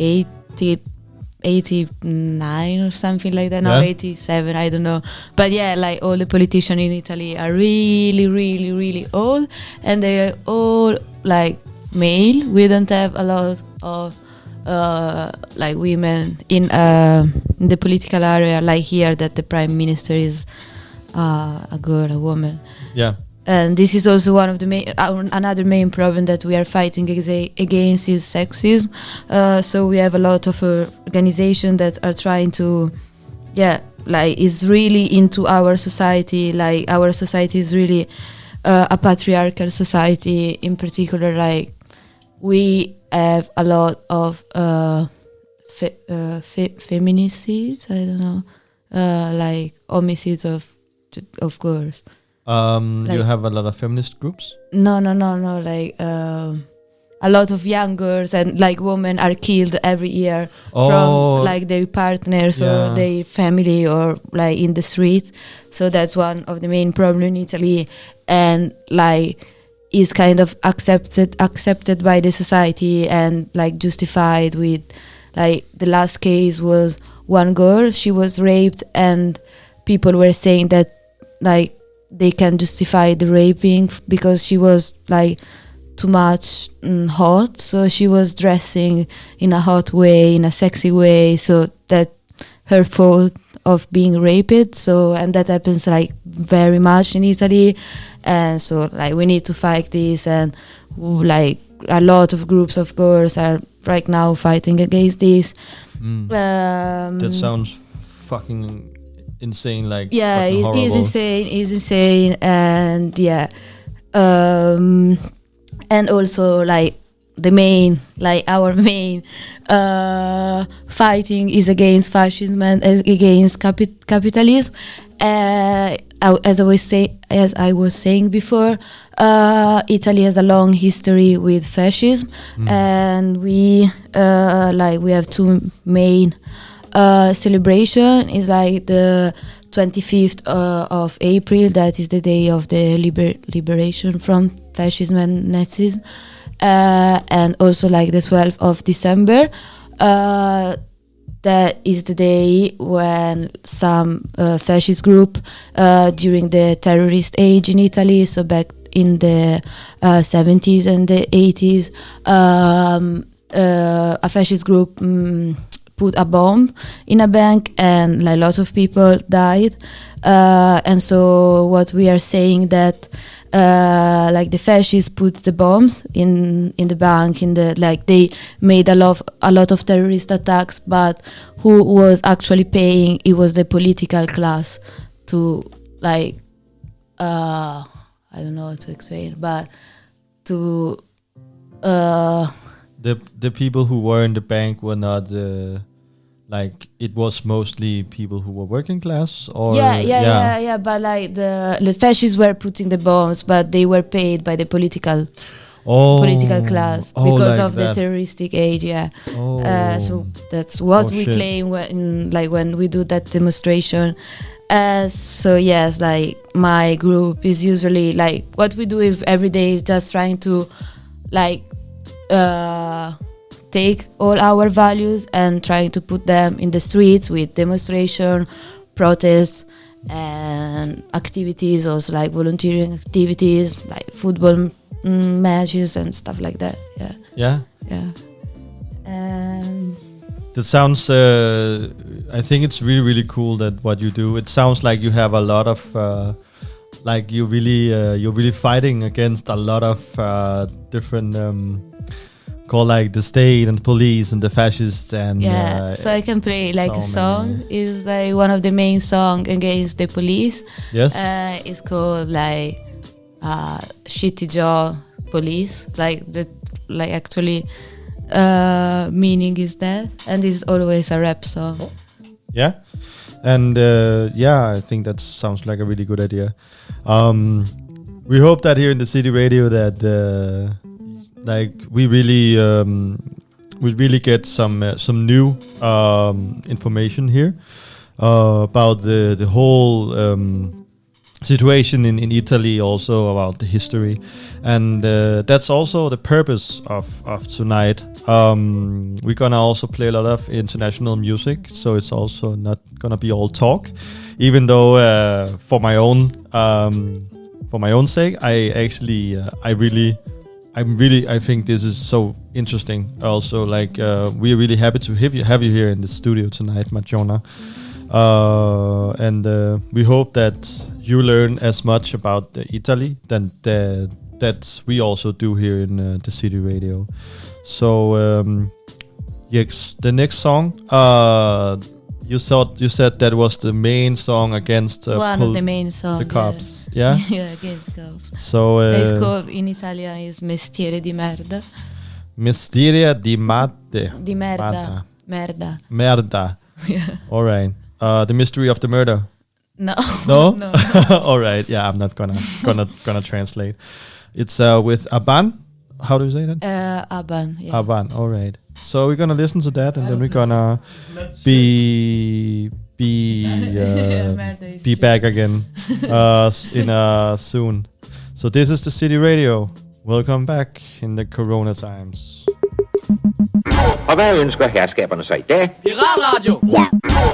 M: 89 or something like that. No, 87. I don't know. But yeah, like all the politicians in Italy are really old, and they are all like male. We don't have a lot of like women in the political area like here, that the prime minister is a girl, a woman.
L: Yeah.
M: And this is also one of the main another main problem that we are fighting against is sexism. So we have a lot of organizations that are trying to like is really into our society. Like our society is really a patriarchal society. In particular, like we have a lot of feminicides. I don't know, like homicides of girls.
L: Like, you have a lot of feminist groups?
M: No. Like a lot of young girls and like women are killed every year from like their partners or their family or like in the street. So that's one of the main problems in Italy, and like is kind of accepted by the society and like justified with like the last case was one girl, she was raped, and people were saying that like they can justify the raping because she was like too much hot, so she was dressing in a hot way, in a sexy way, so that her fault of being raped. So, and that happens like very much in Italy, and so like we need to fight this, and like a lot of groups of girls are right now fighting against this.
L: That sounds fucking insane. Like
M: it is insane, and and also like our main fighting is against fascism and against capitalism. As I was saying before, Italy has a long history with fascism, and we have two main celebration. Is like the 25th of April, that is the day of the liberation from fascism and Nazism, and also like the 12th of December. That is the day when some fascist group during the terrorist age in Italy, so back in the 70s and the 80s, a fascist group put a bomb in a bank, and like lots of people died. And so what we are saying that like the fascists put the bombs in the bank, they made a lot of terrorist attacks, but who was actually paying? It was the political class to like I don't know how to explain, but to
L: the people who were in the bank were not like it was mostly people who were working class, or
M: yeah. But like the fascists were putting the bombs, but they were paid by the political class because of the terroristic age. Yeah. So that's what we claim when we do that demonstration. So yes, like my group is usually like what we do is every day is just trying to like take all our values and trying to put them in the streets with demonstration, protests, and activities, also like volunteering activities, like football matches and stuff like that. Yeah. And
L: that sounds. I think it's really, really cool that what you do. It sounds like you have a lot of. Like you're really fighting against a lot of different. Called like the state and police and the fascists and
M: so I can play like a song is like one of the main song against the police.
L: Yes.
M: It's called like Shitty Jaw Police, like the actually meaning is that, and it's always a rap song.
L: Yeah. And I think that sounds like a really good idea. We hope that here in the City Radio that like we really get some new information here about the whole situation in Italy, also about the history, and that's also the purpose of tonight. We're gonna also play a lot of international music, so it's also not gonna be all talk, even though for my own sake, I think this is so interesting. Also, like we're really happy to have you here in the studio tonight, Madjona, and we hope that you learn as much about Italy that we also do here in the City Radio. So yes, the next song. You said that was the main song against
M: one of the main songs,
L: the cops. Yeah.
M: Against cops.
L: So
M: it's called in Italian is Mestiere di merda.
L: Mestiere di merda.
M: Di merda. Merda.
L: Merda.
M: Yeah.
L: All right. The mystery of the murder.
M: No.
L: No.
M: No.
L: All right. Yeah, I'm not gonna translate. It's with Aban. How do you say that?
M: Aban. Yeah.
L: Aban. All right. So we're gonna listen to that, and then we're gonna be back again soon. So this is the City Radio. Welcome back in the Corona times.
A: Og hvad ønsker herskaberne så i dag?
C: Piratradio!
A: Ja.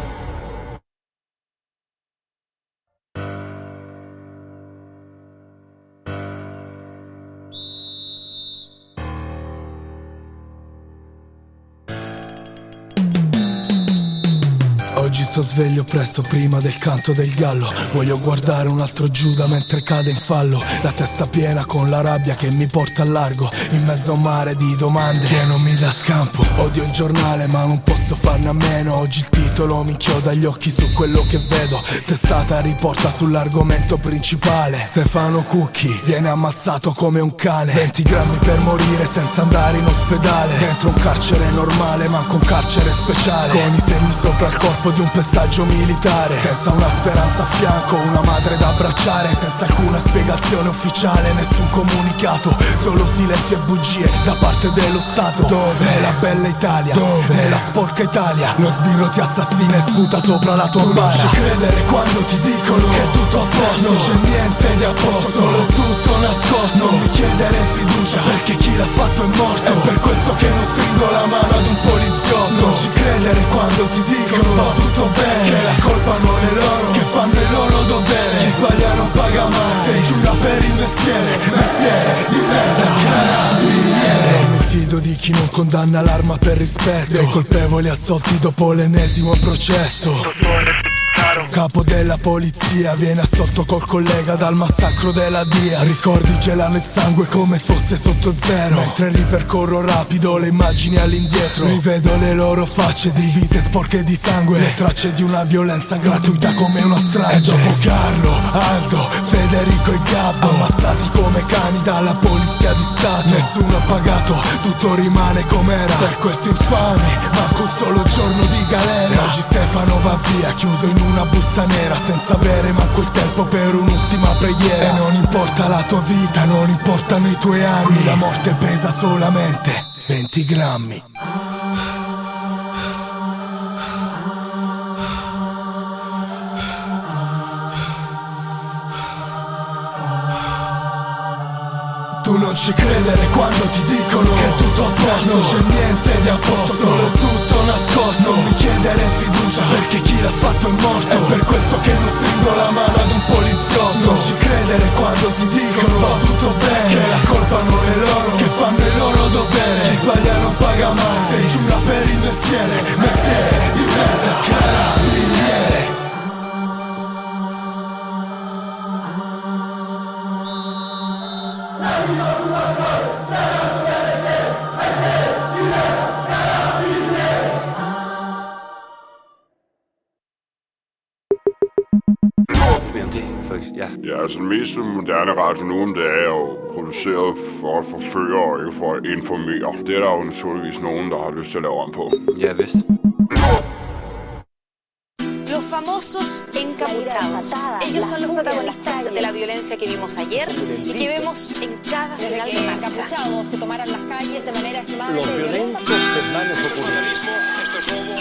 F: Oggi sto sveglio presto prima del canto del gallo. Voglio guardare un altro Giuda mentre cade in fallo. La testa piena con la rabbia che mi porta a largo, in mezzo a un mare di domande che non mi dà scampo. Odio il giornale ma non posso farne a meno. Oggi il titolo mi inchioda gli occhi su quello che vedo. Testata riporta sull'argomento principale. Stefano Cucchi viene ammazzato come un cane. 20 grammi per morire senza andare in ospedale. Dentro un carcere normale manco un carcere speciale. Con i segni sopra il corpo di un pestaggio militare. Senza una speranza a fianco, una madre da abbracciare. Senza alcuna spiegazione ufficiale, nessun comunicato. Solo silenzio e bugie da parte dello Stato. Dove? Nella bella Italia. Dove? Nella sporca Italia. Lo sbirro ti assassina e sputa sopra la tua bara. Non ci credere quando ti dicono che è tutto a posto. Non c'è niente di a posto, solo tutto nascosto. Non mi chiedere fiducia, perché chi l'ha fatto è morto. È per questo che non stringo la mano ad un poliziotto. Non ci credere quando ti dicono va tutto bene, che la colpa non è loro, che fanno il loro dovere. Chi sbaglia non paga mai, se giura per il mestiere. Mestiere di merda, carabiniere. Non mi fido di
R: di chi non condanna l'arma per rispetto, dei colpevoli assolti dopo l'ennesimo processo. Capo della polizia viene assolto col collega dal massacro della DIA. Ricordi gelano il sangue come fosse sotto zero, mentre ripercorro rapido le immagini all'indietro. Rivedo le loro facce divise sporche di sangue, le tracce di una violenza gratuita come una strage. E dopo Carlo, Aldo, Federico e Gabbo, ammazzati come cani dalla polizia di Stato. Nessuno ha pagato, tutto rimane com'era. Per questi infami manco un solo giorno di galera. E oggi Stefano va via chiuso in una busta nera, senza avere manco il tempo per un'ultima preghiera. E non importa la tua vita, non importano i tuoi anni, qui la morte pesa solamente 20 grammi. Tu non ci credere quando ti dicono che è tutto a posto. Non c'è niente di a posto, solo è tutto nascosto. Non mi chiedere fiducia perché chi l'ha fatto è morto. È per questo che non stringo la mano ad un poliziotto. Non ci credere quando ti dicono va tutto bene, che la colpa non è loro, che fanno il loro dovere. Chi sbaglia non paga mai, se giura per il mestiere. Mestiere di merda, carabiniere.
O: Ja, altså den mest moderne radio nu om det er jo produceret for at forføre og ikke for at informere. Det er der jo naturligvis nogen, der har lyst til at lave om på.
C: Ja, vist.
S: Los famosos encapuchados. Ellos son los protagonistas de la violencia que vimos ayer y que vemos en cada final de marcha.
T: Encapuchados se tomaran las calles de manera extremadamente violenta.
U: Esto es vandalismo, esto es robo.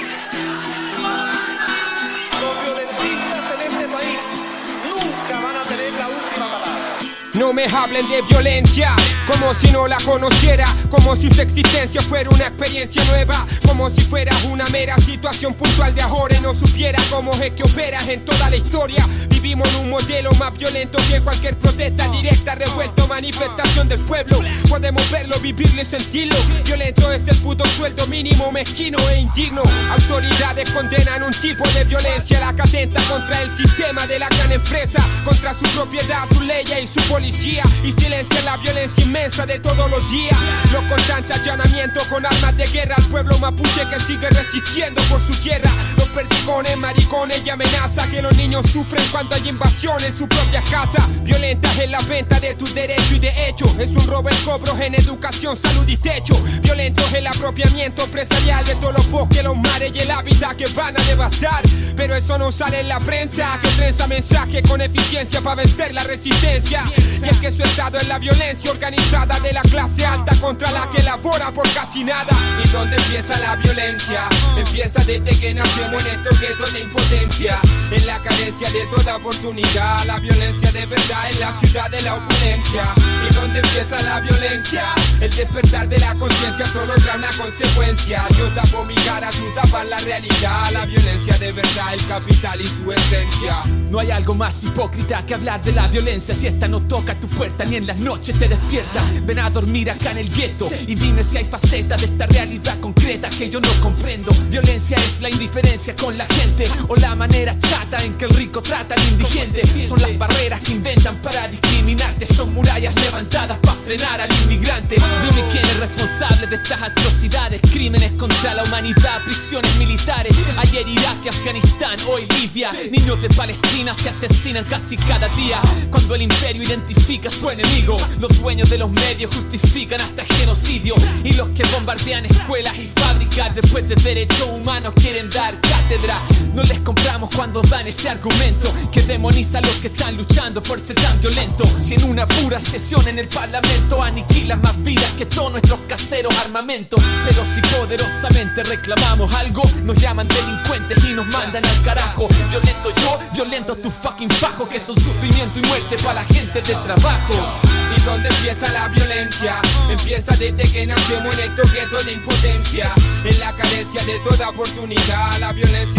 U: Los violentistas en este país nunca van a tener la última palabra.
V: No me hablen de violencia, como si no la conociera, como si su existencia fuera una experiencia nueva, como si fuera una mera situación puntual de ahora y no supiera cómo es que operas en toda la historia. Vivimos en un modelo más violento que cualquier protesta directa, revuelto, manifestación del pueblo. Podemos verlo, vivirlo y sentirlo. Violento es el puto sueldo mínimo, mezquino e indigno. Autoridades condenan un tipo de violencia, la que atenta contra el sistema de la gran empresa, contra su propiedad, sus leyes y su policía, y silencian la violencia inmensa de todos los días. Los constantes allanamientos con armas de guerra al pueblo mapuche que sigue resistiendo por su tierra. Los perdigones, maricones y amenazas que los niños sufren cuando hay invasión en su propia casa. Violentas en la venta de tus derechos y de hecho es un robo el cobro en educación, salud y techo. Violentos el apropiamiento empresarial de todos los bosques, los mares y el hábitat que van a devastar. Pero eso no sale en la prensa, que trenza mensaje con eficiencia para vencer la resistencia. Y es que su estado es la violencia organizada de la clase alta contra la que labora por casi nada. ¿Y dónde empieza la violencia? Empieza desde que nacemos en estos guetos de impotencia, en la carencia de toda oportunidad. La violencia de verdad en la ciudad de la opulencia. ¿Y dónde empieza la violencia? El despertar de la conciencia solo trae una consecuencia. Yo tapo mi cara, tú tapas la realidad. La violencia de verdad, el capital y su esencia.
W: No hay algo más hipócrita que hablar de la violencia. Si esta no toca tu puerta ni en las noches te despierta. Ven a dormir acá en el gueto y dime si hay facetas de esta realidad concreta que yo no comprendo. Violencia es la indiferencia con la gente o la manera chata en que el rico trata al indigente. Son las barreras que inventan para discriminarte. Son murallas levantadas para frenar al inmigrante. Dime quién es responsable de estas atrocidades, crímenes contra la humanidad, prisiones militares. Ayer Irak y Afganistán, hoy Libia. Niños de Palestina se asesinan casi cada día. Cuando el imperio identifica a su enemigo, los dueños de los medios justifican hasta genocidio. Y los que bombardean escuelas y fábricas después de derechos humanos quieren dar cátedra. No les compramos cuando dan ese argumento que demoniza a los que están luchando por ser tan violentos. Si en una pura sesión en el parlamento aniquilan más vidas que todos nuestros caseros armamentos. Pero si poderosamente reclamamos algo, nos llaman delincuentes y nos mandan al carajo. Violento yo, violento tu fucking fajo, que son sufrimiento y muerte para la gente del trabajo.
V: ¿Y dónde empieza la violencia? Empieza desde que nacemos en estos guetos de impotencia, en la carencia de toda oportunidad. La violencia de verdad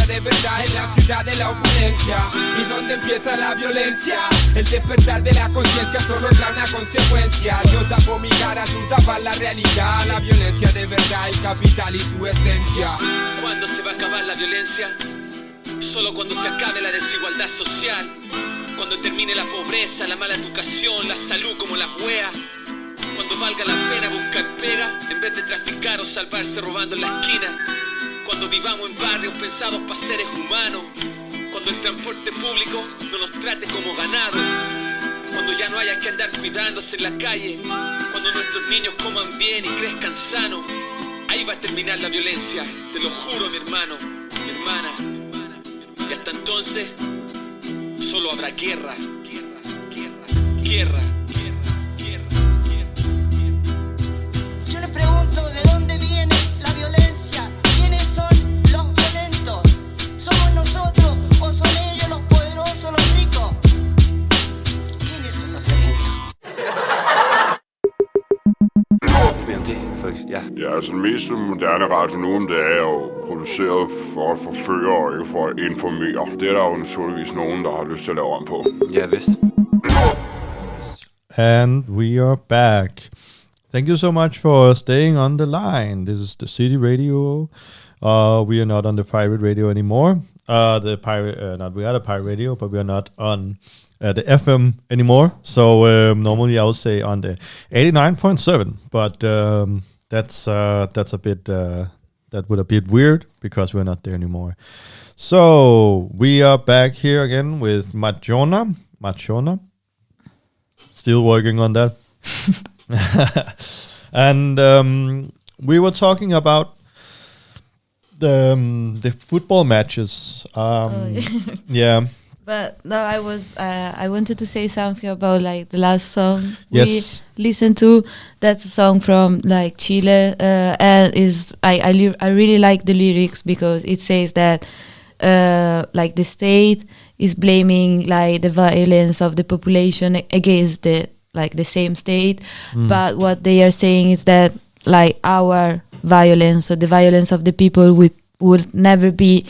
V: está en la ciudad de la opulencia. ¿Y dónde empieza la violencia? El despertar de la conciencia solo trae una consecuencia. Yo tapo mi cara, tú tapas la realidad. La violencia de verdad, el capital y su esencia.
W: ¿Cuándo se va a acabar la violencia? Solo cuando se acabe la desigualdad social. Cuando termine la pobreza, la mala educación, la salud como las weas. Cuando valga la pena buscar pega en vez de traficar o salvarse robando en la esquina. Cuando vivamos en barrios pensados para seres humanos. Cuando el transporte público no nos trate como ganado. Cuando ya no haya que andar cuidándose en la calle. Cuando nuestros niños coman bien y crezcan sanos. Ahí va a terminar la violencia, te lo juro, mi hermano, mi hermana. Y hasta entonces solo habrá guerra, guerra, guerra, guerra.
B: Yo les pregunto de dónde viene la violencia, quiénes son los violentos, somos nosotros o son ellos los poderosos, los ricos. ¿Quiénes son los violentos?
O: Ja, altså den mest moderne radio nu, det er jo produceret for at forføre og ikke for at informere. Det er der jo naturligvis nogen, der har lyst til at lave om på.
D: Ja, vist.
L: And we are back. Thank you so much for staying on the line. This is the City Radio. We are not on the pirate radio anymore. We are the pirate radio, but we are not on the FM anymore. So normally I would say on the 89.7, but that's a bit that would a bit weird because we're not there anymore. So we are back here again with Machona. Still working on that. And we were talking about the football matches. Yeah.
M: But no, I wanted to say something about like the last song
L: yes.
M: we listened to. That's a song from like Chile, and I really like the lyrics because it says that like the state is blaming like the violence of the population against the same state, but what they are saying is that like our violence, so the violence of the people would never be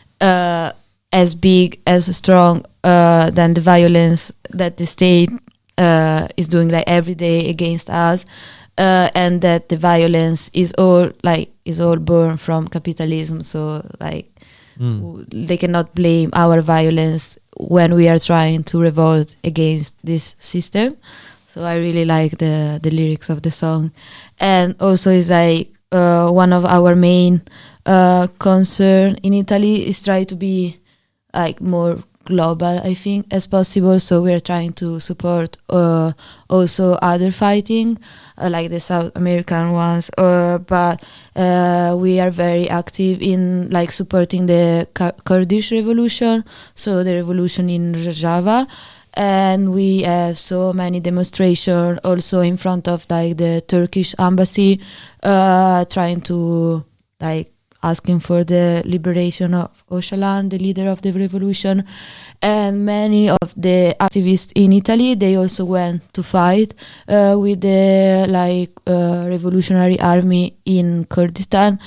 M: as big, as strong than the violence that the state is doing like every day against us, and that the violence is all born from capitalism. So like they cannot blame our violence when we are trying to revolt against this system. So I really like the lyrics of the song, and also it's like one of our main concern in Italy is try to be like more global, I think, as possible. So we are trying to support also other fighting, like the South American ones, but we are very active in like supporting the Kurdish revolution, so the revolution in Rojava. And we have so many demonstrations also in front of like the Turkish embassy, trying to like asking for the liberation of Öcalan, the leader of the revolution. And many of the activists in Italy, they also went to fight with the revolutionary army in Kurdistan.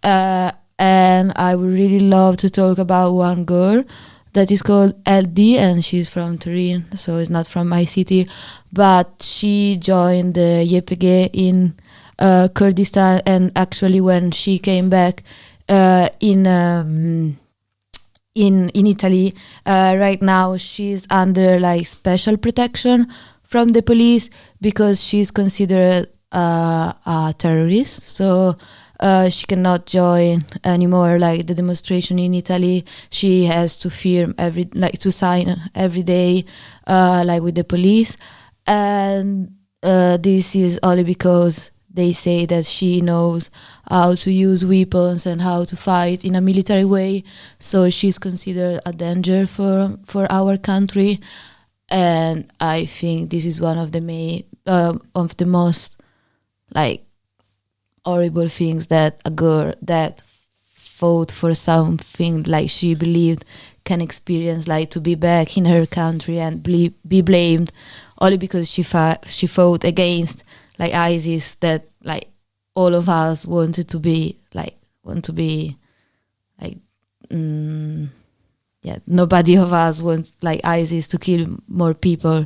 M: And I would really love to talk about one girl that is called LD, and she's from Turin, so it's not from my city, but she joined the YPG in Kurdistan, and actually when she came back in Italy, right now she's under like special protection from the police because she's considered a terrorist. So she cannot join anymore like the demonstration in Italy. She has to to sign every day like with the police, and this is only because they say that she knows how to use weapons and how to fight in a military way. So she's considered a danger for our country, and I think this is one of the most like horrible things that a girl that fought for something like she believed can experience, like to be back in her country and be blamed only because she fought against like ISIS, that like all of us want to be nobody of us wants like ISIS to kill more people.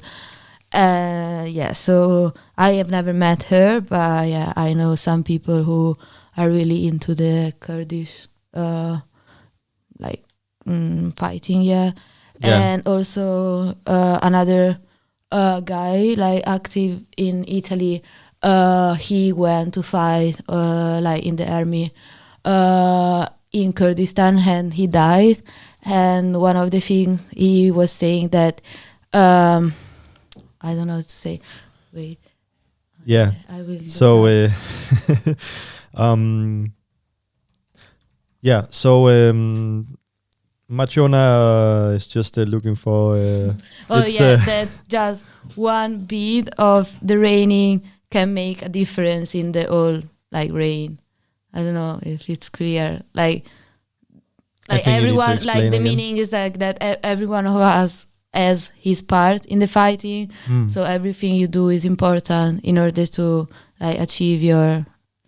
M: So I have never met her, but I know some people who are really into the Kurdish fighting, and also another guy like active in Italy. He went to fight in the army in Kurdistan, and he died. And one of the things he was saying that I don't know what to say. Wait.
L: Yeah.
M: I will.
L: So Machona is just looking for.
M: That's just one bead of the raining can make a difference in the whole rain. I don't know if it's clear. Like everyone, like the meaning is like that every one of us has his part in the fighting. So everything you do is important in order to achieve your.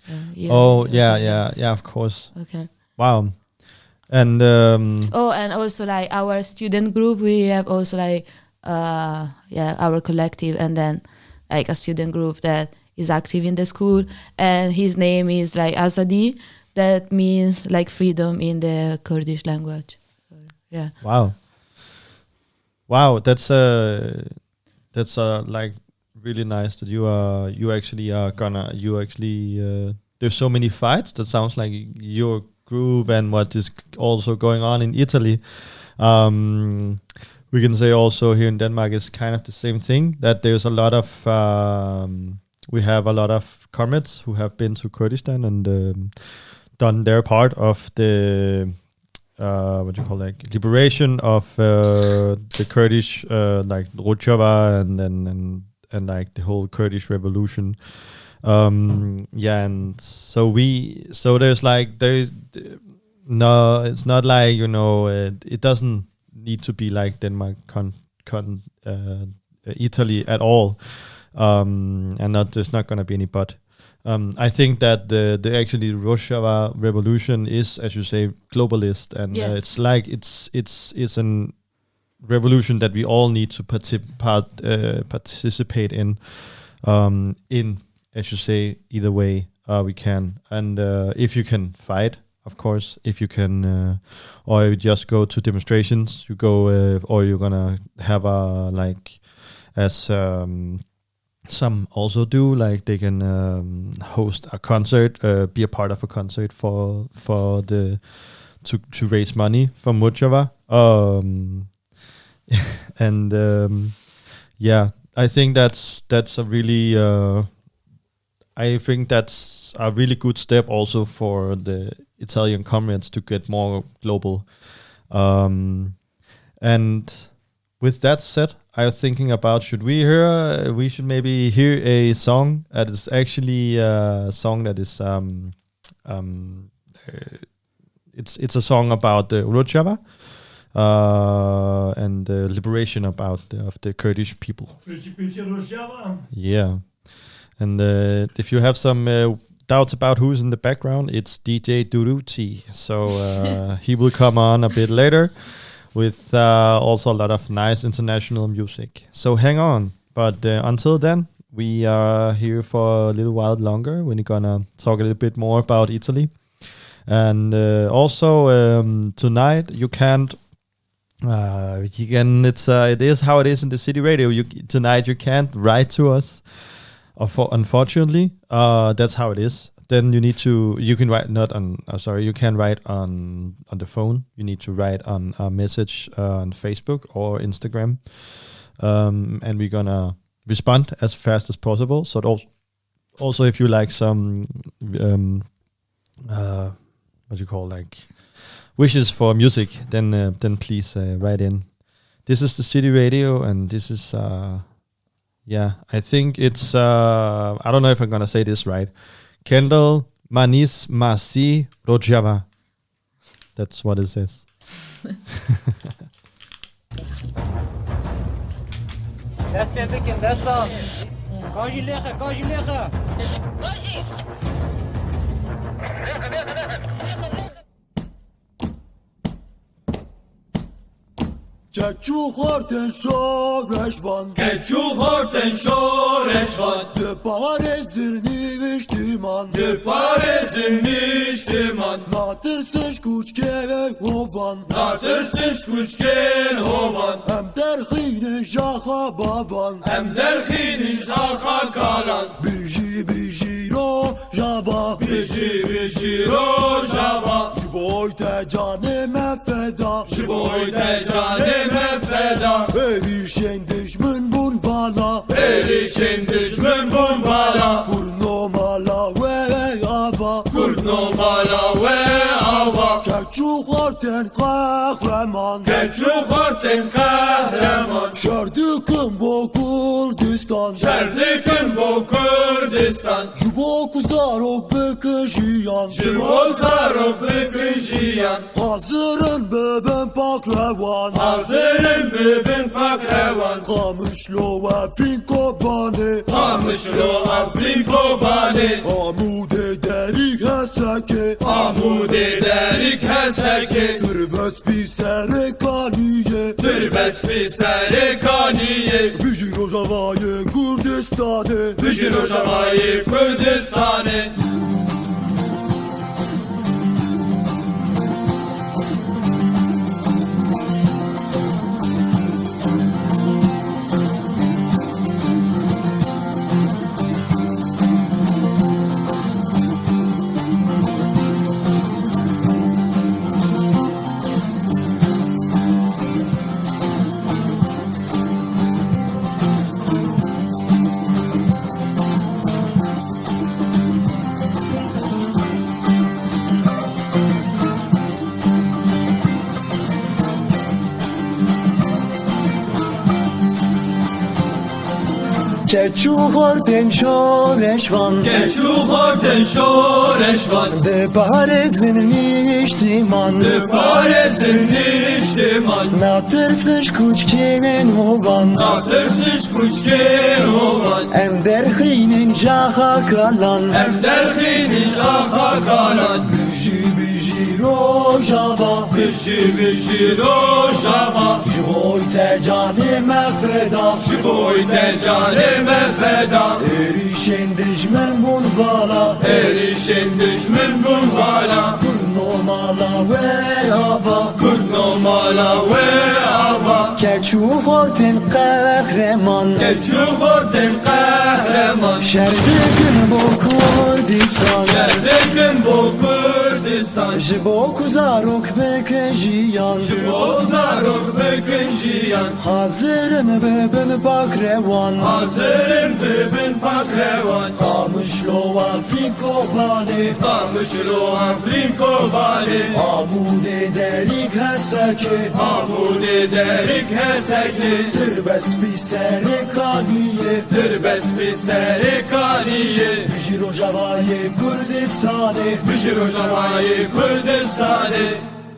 L: Of course.
M: Okay.
L: Wow. And
M: and also our student group, we have also our collective, and then a student group that is active in the school, and his name is Azadi, that means freedom in the Kurdish language. So, yeah.
L: Wow, that's really nice that you actually there's so many fights. That sounds like your group and what is also going on in Italy. We can say also here in Denmark is kind of the same thing, that there's a lot of we have a lot of comrades who have been to Kurdistan and done their part of the liberation of the Kurdish Rojava and the whole Kurdish revolution. And so there's no, it's not it doesn't need to be like Denmark Italy at all, and there's not going to be any but. I think that the Rojava revolution is, as you say, globalist, and it's a revolution that we all need to participate in, as you say, either way we can. And if you can fight, of course, if you can, or you just go to demonstrations, you go, or you're gonna have some also do, they can host a concert, be a part of a concert to raise money for Rojava. I think that's a really I think that's a really good step also for the Italian comrades to get more global. And with that said, I was thinking about we should maybe hear a song that is actually a song that is it's a song about the Rojava and the liberation of the Kurdish people. Yeah. And if you have some doubts about who's in the background, it's DJ Duruti. So he will come on a bit later with also a lot of nice international music. So hang on. But until then, we are here for a little while longer. We're gonna talk a little bit more about Italy. And also tonight it is how it is in the City Radio. Tonight you can't write to us. Unfortunately, that's how it is. Then you can write you can write on the phone. You need to write on a message on Facebook or Instagram, and we're gonna respond as fast as possible. So also if you like some wishes for music, then please write in. This is the City Radio, and this is I think it's I don't know if I'm gonna say this right. Kendall Manis Masi Rojava. That's what it says.
D: Keçuhorten şoreşvan
Q: Keçuhorten şoreşvan
D: De parezir niviştiman
Q: De parezir niviştiman
D: Natırsış kuçkeve hovan
Q: Natırsış kuçken hovan
D: Em derhine jaha baban
Q: Em derhine jaha kalan
D: Biji biji ro java
Q: Biji biji ro java
D: Jiboy te canime feda
Q: Jiboy te canime feda
D: Erişen düşmün bun bala
Q: Erişen düşmün bun bala
D: Kurno mala ve ava
Q: Kurno mala ve ava
D: Keçuhorten kahraman
Q: Keçuhorten kahraman
D: Şerdikın bo Kurdistan
Q: Şerdikın bo Kurdistan
D: Jibo kuzarok bekejiyan
Q: Jibo zarok bekejiyan
D: Hazırın beben paklevan
Q: Hazırın beben paklevan
D: Kamışlo ve finko bane
Q: Kamışlo afrinko bane
D: Amude derik heseke
Q: Amude derik heseke
D: Tırbes pisere kaniye
Q: Tırbes pisere kaniye
D: Bijir Rojavayê Kurdistanê
Q: Bijir Rojavayê Kurdistanê
D: Keçuhorten şoreşvan
Q: Keçuhorten şoreşvan
D: De parezin niştiman
Q: De parezin niştiman
D: Natırsış kuçkeven hovan
Q: Natırsış kuçken hovan
D: Em derhinin jaha kalan
Q: Em derhinin jaha kalan
D: Biji biji ro java
Q: Biji biji ro java
D: Jiboy te canime feda
Q: Jiboy te canime feda
D: Erişen düşmen bun bala
Q: Erişen düşmen bun bala
D: Kurno mala ve ava
Q: Kurno mala ve ava
D: Keçuhorten kahraman
Q: Keçuhorten kahraman
D: Şerdikın bo Kurdistan
Q: Şerdikın bo Kurdistan
D: Jibo kuzarok bekejiyan
Q: Jibo zarok bekejiyan
D: Hazırın beben pakrevan
Q: Hazırın beben pakrevan
D: Kamışlo afrinko bane
Q: Kamışlo afrinko bane
D: Amude derik heseke
Q: Amude derik heseke
D: Tırbes pisere kaniye
Q: Tırbes pisere kaniye
D: Bijir Rojavayê Kurdistanê
Q: Bijir Rojavayê Kurdistanê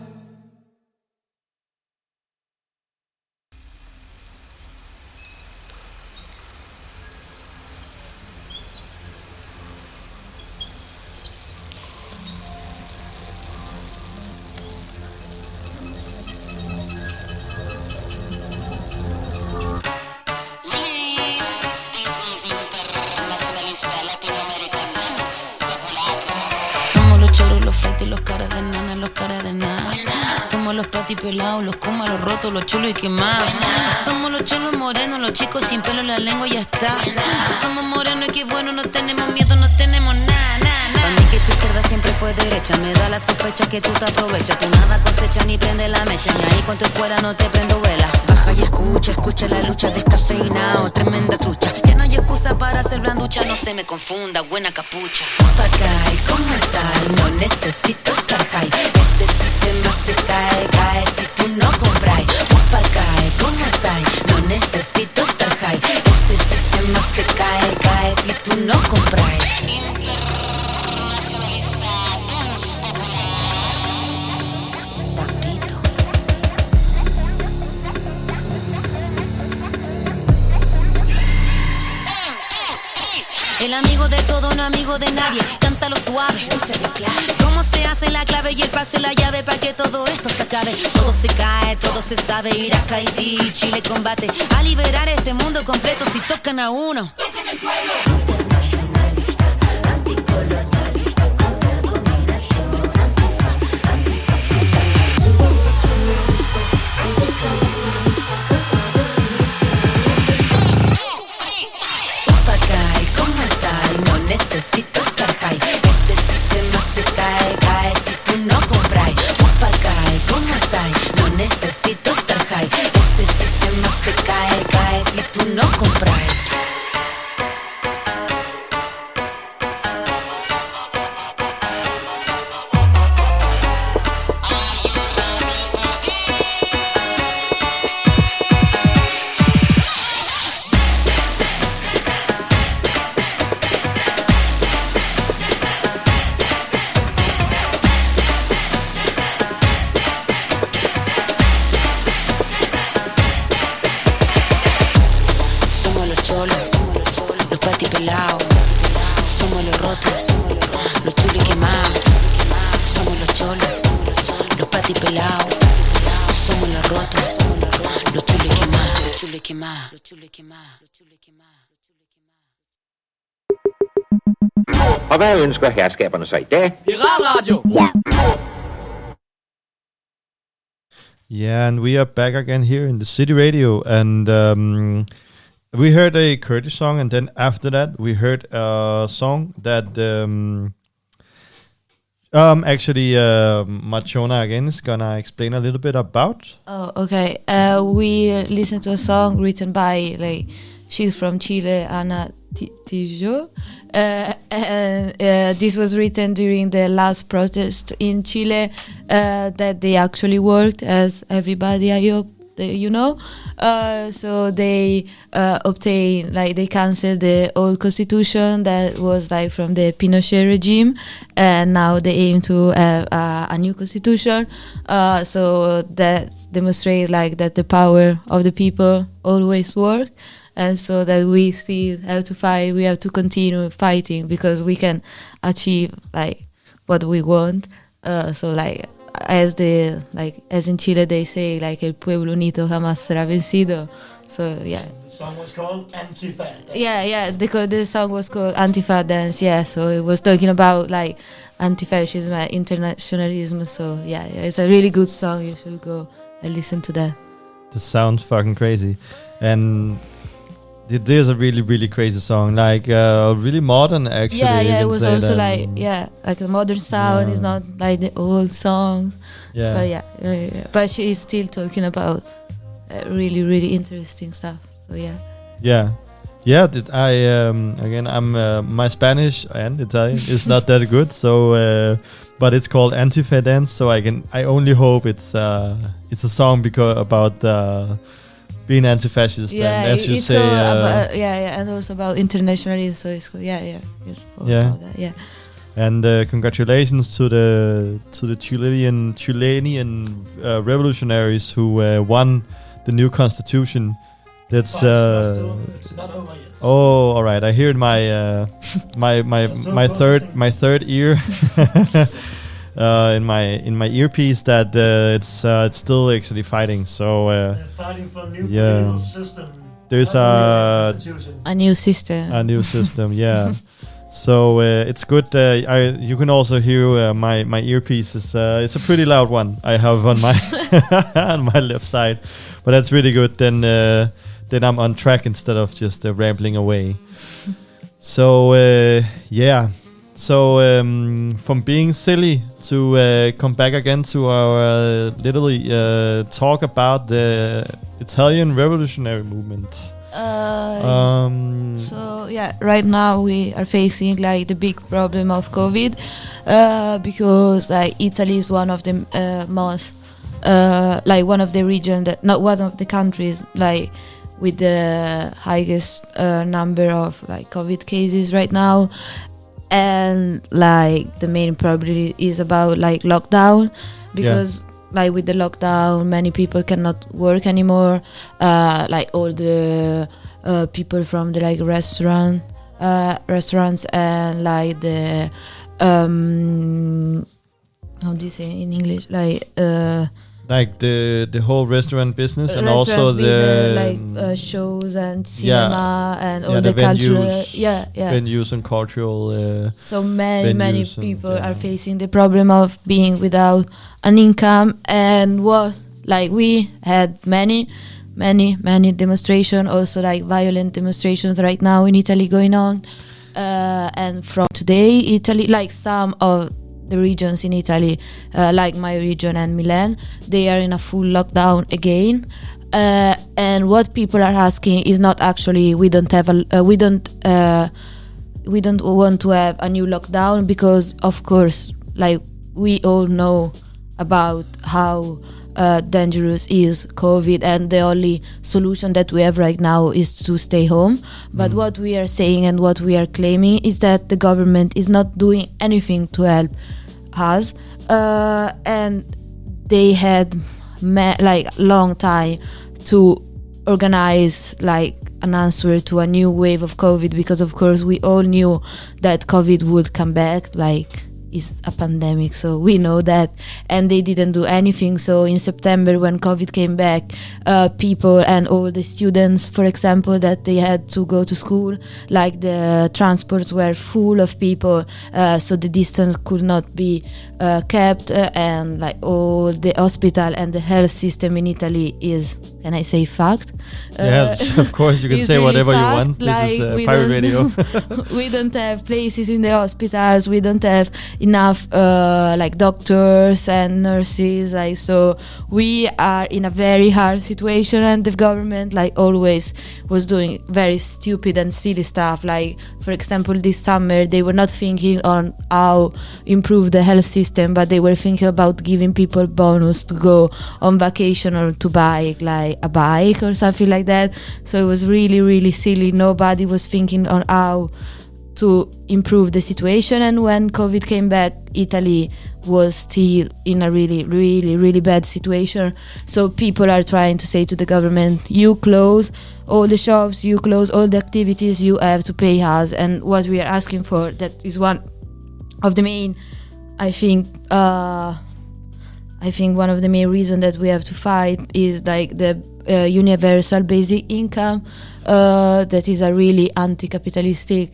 G: Somos los choros, los flights y los caras de nana, los caras de nada. Somos los patis pelados, los comas, los rotos, los chulos y quemados. Somos los cholos morenos, los chicos sin pelo en la lengua y ya está. Somos morenos y qué bueno, no tenemos miedo, no tenemos nada, nada. Para mí que tu izquierda siempre fue derecha, me da la sospecha que tú te aprovechas. Tú nada cosecha ni prende la mecha, y ahí con tu escuela no te prendo vela. Baja y escucha, escucha la lucha descafeinado, tremenda trucha. Ya no hay excusa para hacer blanducha, no se me confunda, buena capucha. Papagay, ¿cómo está? No necesito estar high. Este sistema se cae, cae si tú no compras. Papagay, ¿cómo está? No necesito estar high. Este sistema se cae, cae si tú no compras. Internacionalista dance popular. Papito. El amigo de todo, no amigo de nadie. Cántalo suave, échale clase. Cómo se hace la clave y el pase la llave para que todo esto se acabe. Todo se cae, todo se sabe. Irak, Haití, Chile combate a liberar este mundo completo. Si tocan a uno, tocan el pueblo. Internacionalista, anticolonialista, contra dominación, antifa, antifascista. Internacionalista, anticolonialista, contra dominación. Papagay, ¿cómo está? No necesito estar high. Este sistema se cae, cae si tú no compras. Papagay, ¿cómo está? No necesito estar high. Este sistema se cae, cae si tú no compras. Los patipelados, somos los rotos, los chulos quemados. Somos los cholos, los patipelados, somos los rotos, los chulos quemados, los chulos quemados, los chulos quemados, los chulos quemados.
A: Og hvad ønsker herskaberne så i dag?
C: Piratradio!
A: Ja.
L: Yeah, and we are back again here in the City Radio, and we heard a Kurdish song, and then after that we heard a song that actually Machona again is gonna explain a little bit about.
M: Oh, okay. We listened to a song written by, like, she's from Chile, Ana Tijoux. This was written during the last protest in Chile that they actually worked, as everybody, I hope you know. So they obtained, like, they cancelled the old constitution that was, like, from the Pinochet regime, and now they aim to have a new constitution. So that demonstrates, like, that the power of the people always works. And so that we still have to fight, we have to continue fighting because we can achieve, like, what we want. So, like, as in Chile they say, like, el pueblo unido jamás será vencido. So, yeah.
D: The song was called Antifa Dance.
M: Yeah, the song was called Antifa Dance, yeah. So it was talking about, like, anti-fascism and internationalism. So, yeah, it's a really good song. You should go and listen to that.
L: This sounds fucking crazy. And it is a really, really crazy song, like really modern, actually.
M: Yeah, it was also like a modern sound. Yeah. It's not like the old songs.
L: Yeah,
M: but but she is still talking about really, really interesting stuff. So yeah. Again, I'm my Spanish and Italian is not that good, so but it's called Antifa Dance. So I only hope it's a song about. Being anti-fascist, and as you say, and also about internationalism. So it's cool. It's about that,
L: And congratulations to the Chilean revolutionaries who won the new constitution. That's
D: it's not over yet.
L: Oh, all right. I hear in my third ear. In my earpiece that it's still actually fighting. So
D: fighting for a new political system.
L: There's
M: a new system.
L: A new system, yeah. So it's good. You can also hear my earpiece. It's a pretty loud one I have on my on my left side, but that's really good. Then I'm on track instead of just rambling away. So So from being silly to come back again to our literally talk about the Italian revolutionary movement.
M: Right now we are facing, like, the big problem of COVID because, like, Italy is one of the most one of the region that, not one of the countries, like, with the highest number of, like, COVID cases right now. And, like, the main problem is about, like, lockdown, because like, with the lockdown many people cannot work anymore, like all the people from the, like, restaurant restaurants and like the how do you say in English,
L: like the whole restaurant business and
M: restaurants
L: also the
M: like shows and cinema and all the
L: cultural
M: venues,
L: venues and cultural
M: so many
L: venues
M: people are facing the problem of being without an income. And we had many demonstrations, also like violent demonstrations right now in Italy going on, and from today Italy, like some of the regions in Italy, like my region and Milan, they are in a full lockdown again. And what people are asking is not actually we don't want to have a new lockdown, because of course, like we all know about how dangerous is COVID, and the only solution that we have right now is to stay home. But what we are saying and what we are claiming is that the government is not doing anything to help us, and they had long time to organize like an answer to a new wave of COVID, because of course we all knew that COVID would come back, like it's a pandemic, so we know that, and they didn't do anything. So in September, when COVID came back, people and all the students, for example, that they had to go to school, like the transports were full of people, so the distance could not be kept, and like all the hospital and the health system in Italy is, can I say, fucked?
L: Yes, of course you can say really whatever you want. This is pirate radio.
M: We don't have places in the hospitals. We don't have enough like doctors and nurses. Like, so we are in a very hard situation, and the government, like always, was doing very stupid and silly stuff. Like, for example, this summer they were not thinking on how improve the health system, but they were thinking about giving people bonus to go on vacation or to buy like a bike or something like that. So it was really silly. Nobody was thinking on how to improve the situation. And when COVID came back, Italy was still in a really bad situation. So people are trying to say to the government, you close all the shops, you close all the activities, you have to pay us. And what we are asking for, that is one of the main, I think one of the main reasons that we have to fight is like the universal basic income, that is a really anti-capitalistic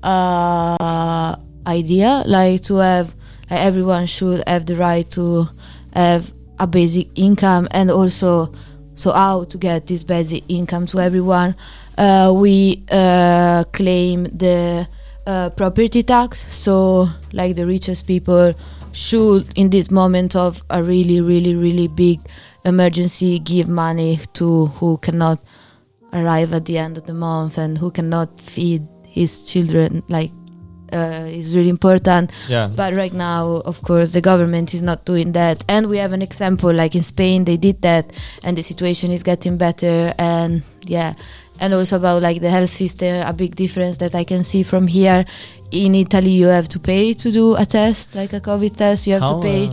M: idea, like to have everyone should have the right to have a basic income. And also, so how to get this basic income to everyone, we claim the property tax. So like the richest people should, in this moment of a really big emergency, give money to who cannot arrive at the end of the month and who cannot feed his children. Like is really important.
L: Yeah.
M: But right now, of course, the government is not doing that. And we have an example, like in Spain, they did that, and the situation is getting better. And yeah, and also about like the health system, a big difference that I can see from here. In Italy, you have to pay to do a test, like a COVID test. You have to pay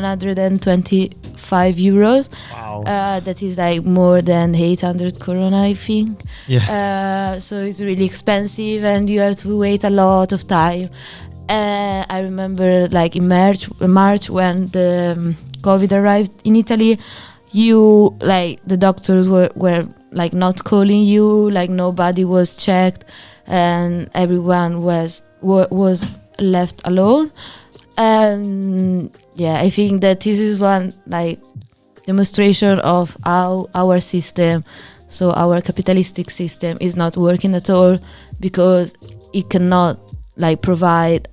M: 125 euros.
L: Wow.
M: That is like more than 800 corona, I think.
L: Yeah.
M: So it's really expensive, and you have to wait a lot of time. I remember like in March when the COVID arrived in Italy, you like the doctors were like not calling you, like nobody was checked, and everyone was left alone. And yeah, I think that this is one like demonstration of how our system, so our capitalistic system, is not working at all, because it cannot like provide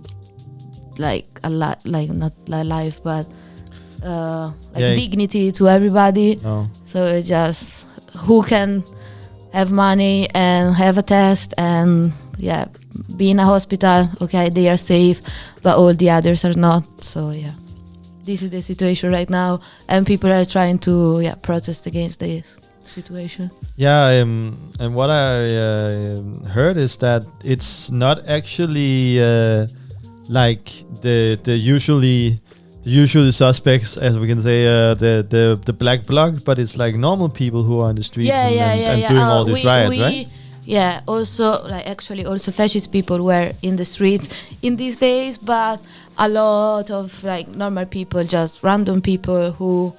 M: not life, but dignity to everybody.
L: No.
M: So it's just who can have money and have a test and be in a hospital, okay, they are safe, but all the others are not. So yeah, this is the situation right now, and people are trying to protest against this situation.
L: Yeah, and what I heard is that it's not actually like the usual suspects, as we can say, the black bloc, but it's like normal people who are on the streets and doing all these riots, right?
M: yeah, also also fascist people were in the streets in these days, but a lot of like normal people, just random people who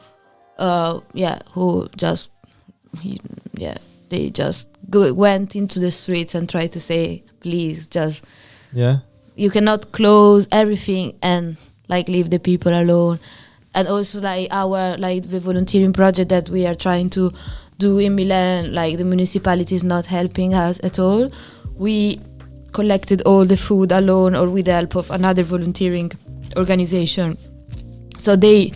M: they just went into the streets and tried to say, please, just you cannot close everything and like leave the people alone. And also like the volunteering project that we are trying to do in Milan, like the municipality is not helping us at all. We collected all the food alone or with the help of another volunteering organization. So they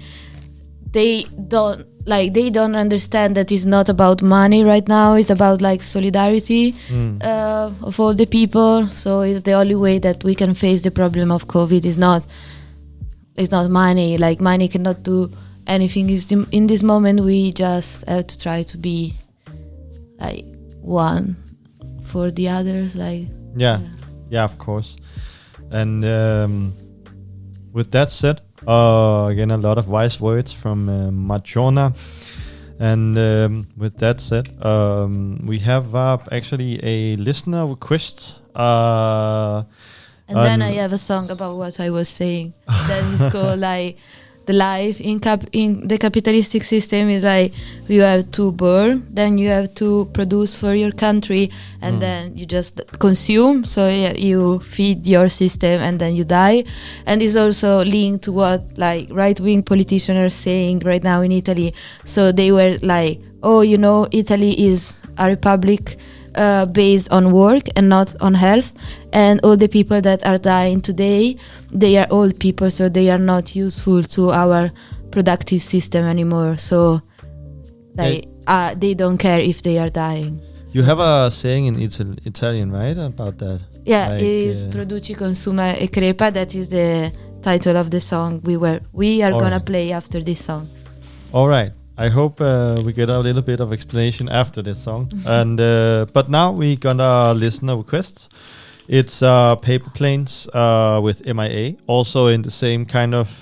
M: don't understand that it's not about money right now. It's about like solidarity of all the people. So it's the only way that we can face the problem of COVID. It's not money. Like money cannot do anything. In this moment, we just have to try to be like one for the others. Like
L: yeah, of course. And with that said, again, a lot of wise words from Madjona. And with that said, we have actually a listener request.
M: And then I have a song about what I was saying. That is called like the life in the capitalistic system is like you have to burn, then you have to produce for your country, and then you just consume. So you feed your system, and then you die. And it's also linked to what like right-wing politicians are saying right now in Italy. So they were like, Italy is a republic based on work and not on health, and all the people that are dying today, they are old people, so they are not useful to our productive system anymore. So they don't care if they are dying.
L: You have a saying in Italian, right, about that?
M: Yeah, it is Produci, consuma e crepa. That is the title of the song we are gonna play after this song.
L: All right. I hope we get a little bit of explanation after this song. And but now we gonna listen to requests. It's Paper Planes with MIA, also in the same kind of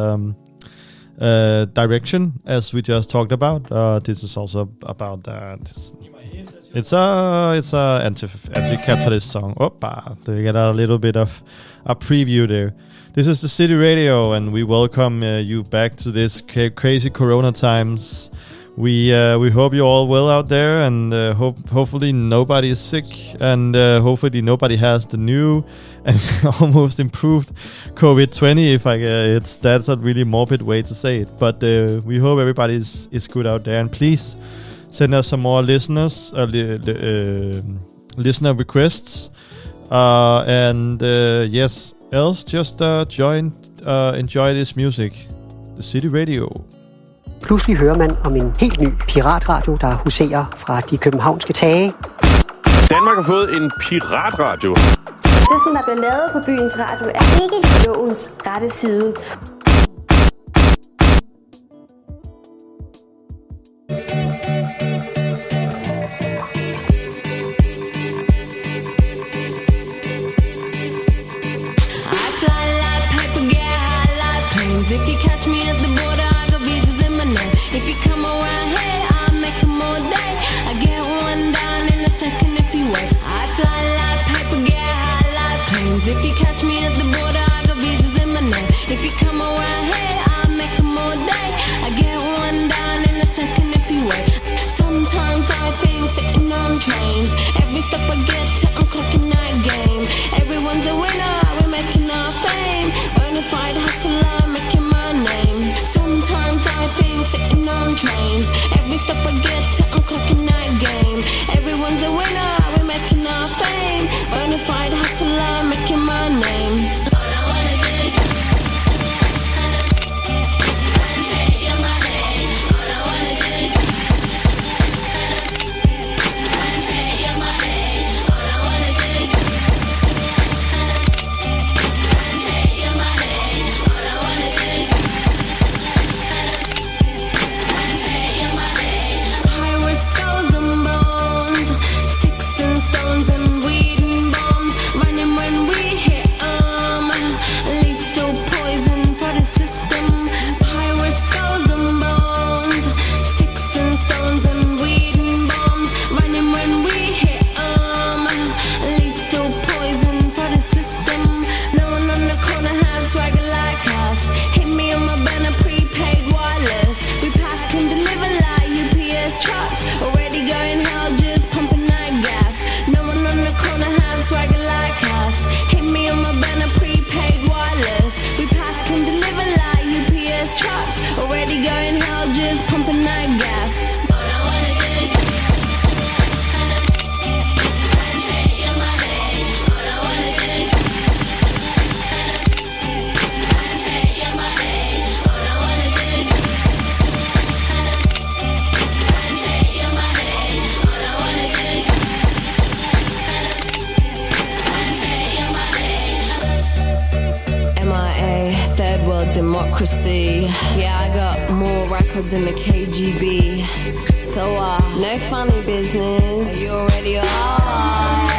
L: direction as we just talked about. This is also about that. It's a anti-capitalist song. We get a little bit of a preview there. This is the City Radio, and we welcome you back to this crazy Corona times. We hope you're all well out there, and hopefully nobody is sick, and hopefully nobody has the new and almost improved COVID-20. That's a really morbid way to say it, but we hope everybody is good out there. And please send us some more listener requests, and yes. Else, just enjoy this music. The City Radio.
E: Pludselig hører man om en helt ny piratradio, der huserer fra de københavnske tage.
J: Danmark har fået en piratradio.
K: Det, som der bliver lavet på byens radio, er ikke lovens rette side.
G: If you catch me at the border, I got visas in my name. If you come around here, I'll make them all day. I get one down in a second if you wait. I fly like paper, get high like planes. If you catch me at the border, I got visas in my name. If you come around here, I'll make them all day. I get one down in a second if you wait. Sometimes I think sitting on trains. Every step I get to, I'm clocking that game. Everyone's a winner, we're making our fame. Bonafide hustler, making my name. Sometimes I think sitting on trains. Every step I get to, I'm clocking that game. Everyone's a winner, we're making our fame. Bonafide hustler, making my name.
I: secrecy. Yeah, I got more records than the KGB. So, no funny business. You already are.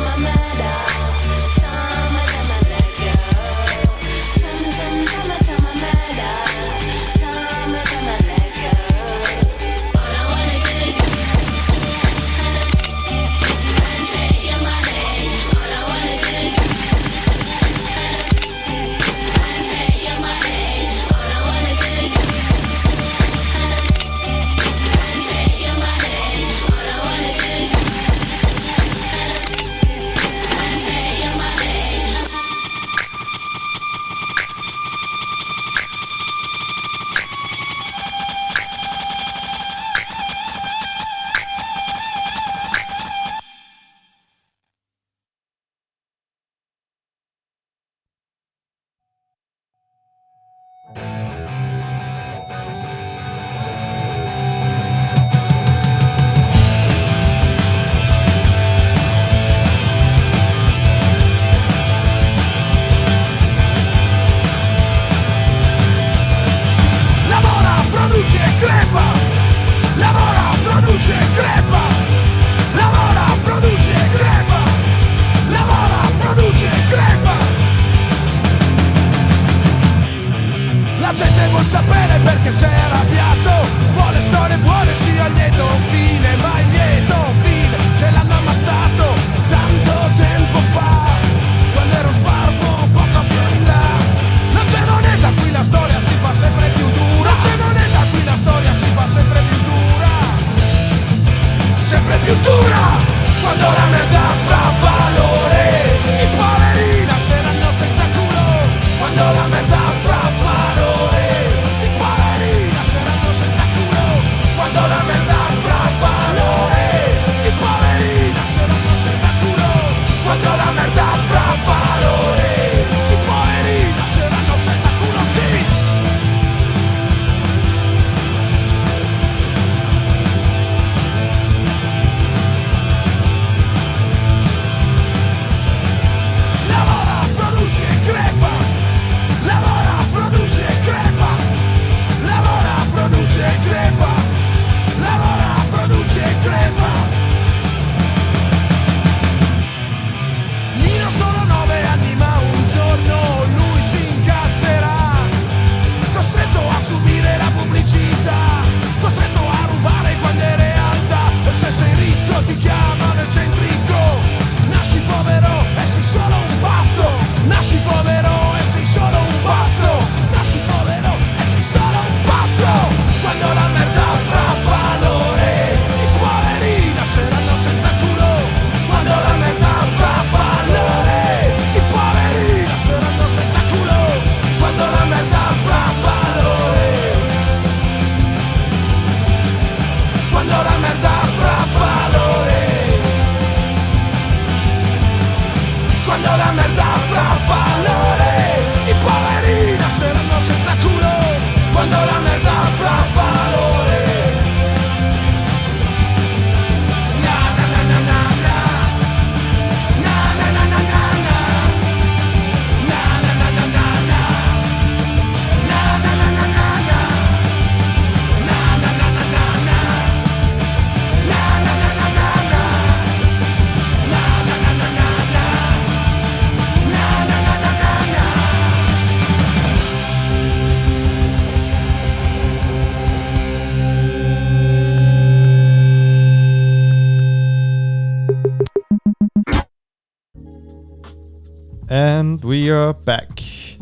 L: And we are back.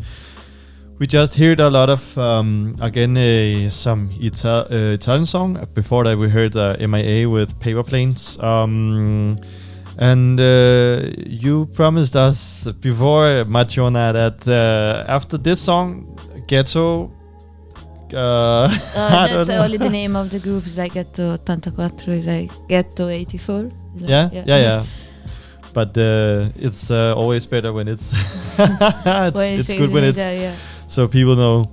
L: We just heard a lot of, some Italian song. Before that we heard MIA with Paper Planes. And you promised us before, Machiona, that after this song, Ghetto...
M: that's only the name of the group. Is like Ghetto 84, is like Ghetto 84.
L: Yeah. But it's always better when it's it's good when it's so people know.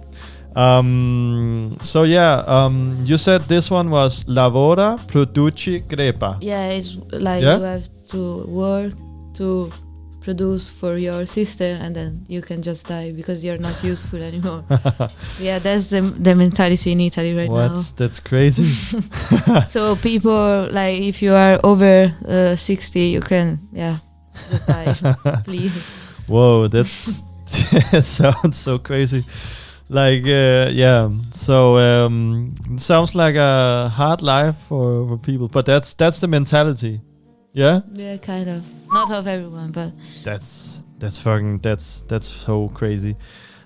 L: You said this one was Lavora, Produci, Crepa.
M: Yeah, it's like you have to work to produce for your sister, and then you can just die because you're not useful anymore. Yeah, that's the mentality in Italy right now.
L: That's crazy.
M: So people, like, if you are over 60, you can, just die, please.
L: Whoa, that sounds so crazy. Like, so it sounds like a hard life for people, but that's the mentality. Yeah?
M: Yeah, kind of. Not of everyone, but
L: that's so crazy.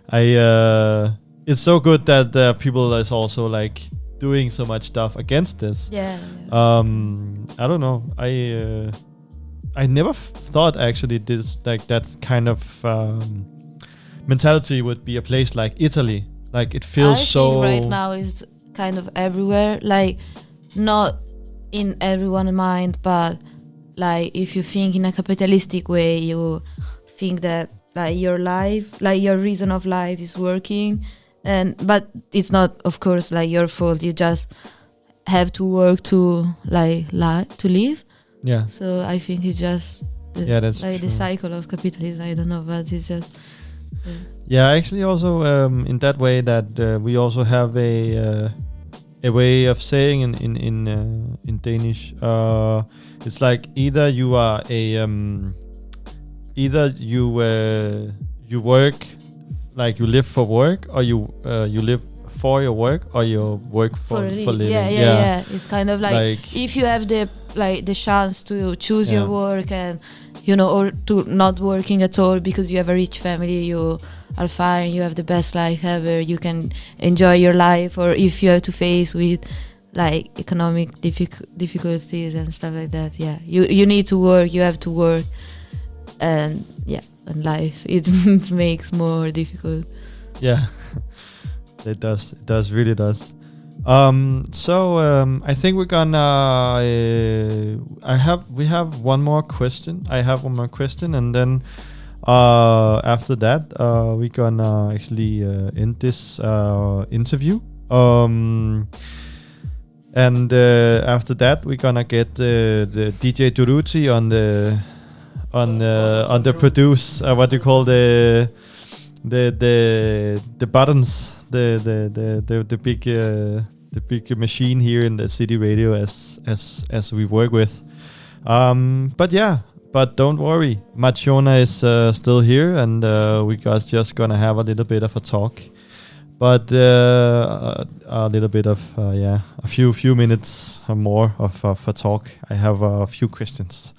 L: It's so good that people is also like doing so much stuff against this.
M: Yeah.
L: I don't know. I never thought actually this, like, that kind of mentality would be a place like Italy. Like, it feels so.
M: I think right now is kind of everywhere. Like, not in everyone's mind, but like, if you think in a capitalistic way, you think that like your life, like your reason of life is working, but it's not, of course, like your fault. You just have to work to to live.
L: Yeah.
M: So I think it's just
L: that's
M: like
L: true.
M: The cycle of capitalism. I don't know, but it's just.
L: Yeah, actually, also in that way that we also have a way of saying in Danish. It's like either you are either you work, like you live for work, or you live for your work, or you work for living.
M: Yeah. It's kind of like if you have the chance to choose your work, and or to not working at all because you have a rich family, you are fine, you have the best life ever, you can enjoy your life. Or if you have to face with like economic difficulties and stuff like that, you need to work, you have to work, and life it makes more difficult.
L: It really does. I think we're gonna we have one more question. I have one more question, and then after that we're gonna actually end this interview. And after that we're gonna get the DJ Duruti on the produce what do you call the buttons, the big machine here in the City Radio as we work with. But don't worry, Machiona is still here, and we guys just gonna have a little bit of a talk. But a little bit of a few minutes or more of a talk. I have a few questions.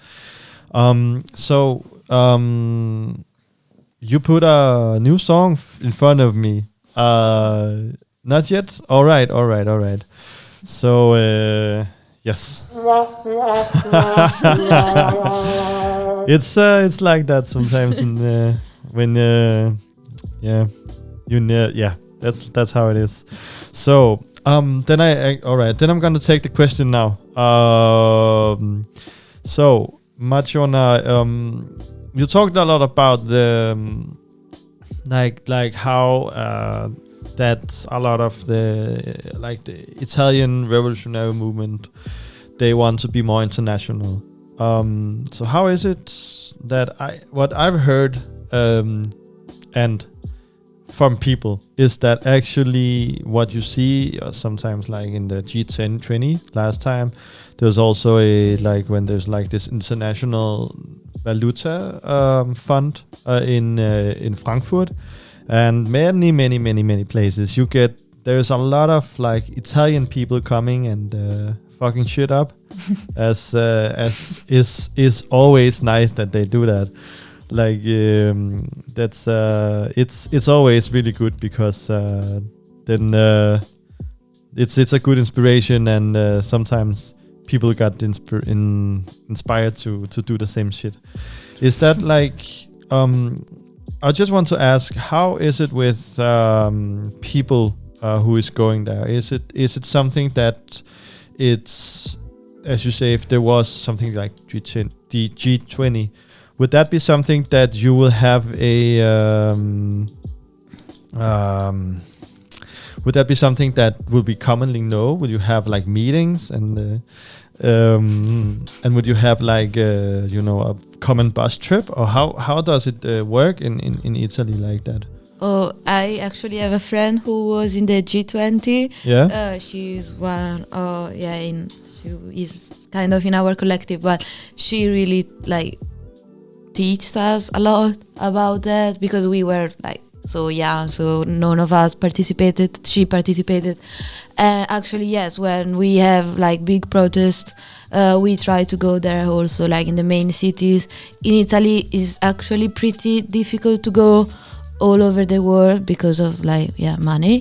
L: You put a new song in front of me. Not yet? All right. So, yes. It's like that sometimes that's how it is. So, then I'm gonna take the question now. So, Machiona, you talked a lot about the like how that a lot of the Italian revolutionary movement, they want to be more international. So how is it that what I've heard and from people is that actually what you see sometimes, like in the G20 last time, there's also when there's like this international valuta fund in Frankfurt, and many places there's a lot of like Italian people coming and fucking shit up, as is always nice that they do that. Like that's it's always really good because then it's a good inspiration, and sometimes people got inspired to do the same shit. Is that like I just want to ask, how is it with people who is going there? Is it something that it's, as you say, if there was something like G20, would that be something that you will have would that be something that will be commonly known? Would you have like meetings and would you have like a common bus trip, or how does it work in Italy like that?
M: Oh, I actually have a friend who was in the G20.
L: Yeah.
M: She's one. She is kind of in our collective, but she really like teaches us a lot about that because we were like so young, so none of us participated. She participated. Actually, yes, when we have like big protests, we try to go there also, like in the main cities. In Italy, it's actually pretty difficult to go all over the world because of money.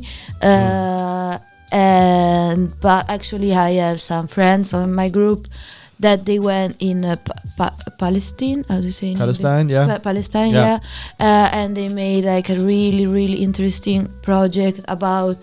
M: But actually I have some friends on my group that they went in Palestine. How do you say?
L: Palestine, yeah.
M: Palestine, yeah. And they made like a really, really interesting project about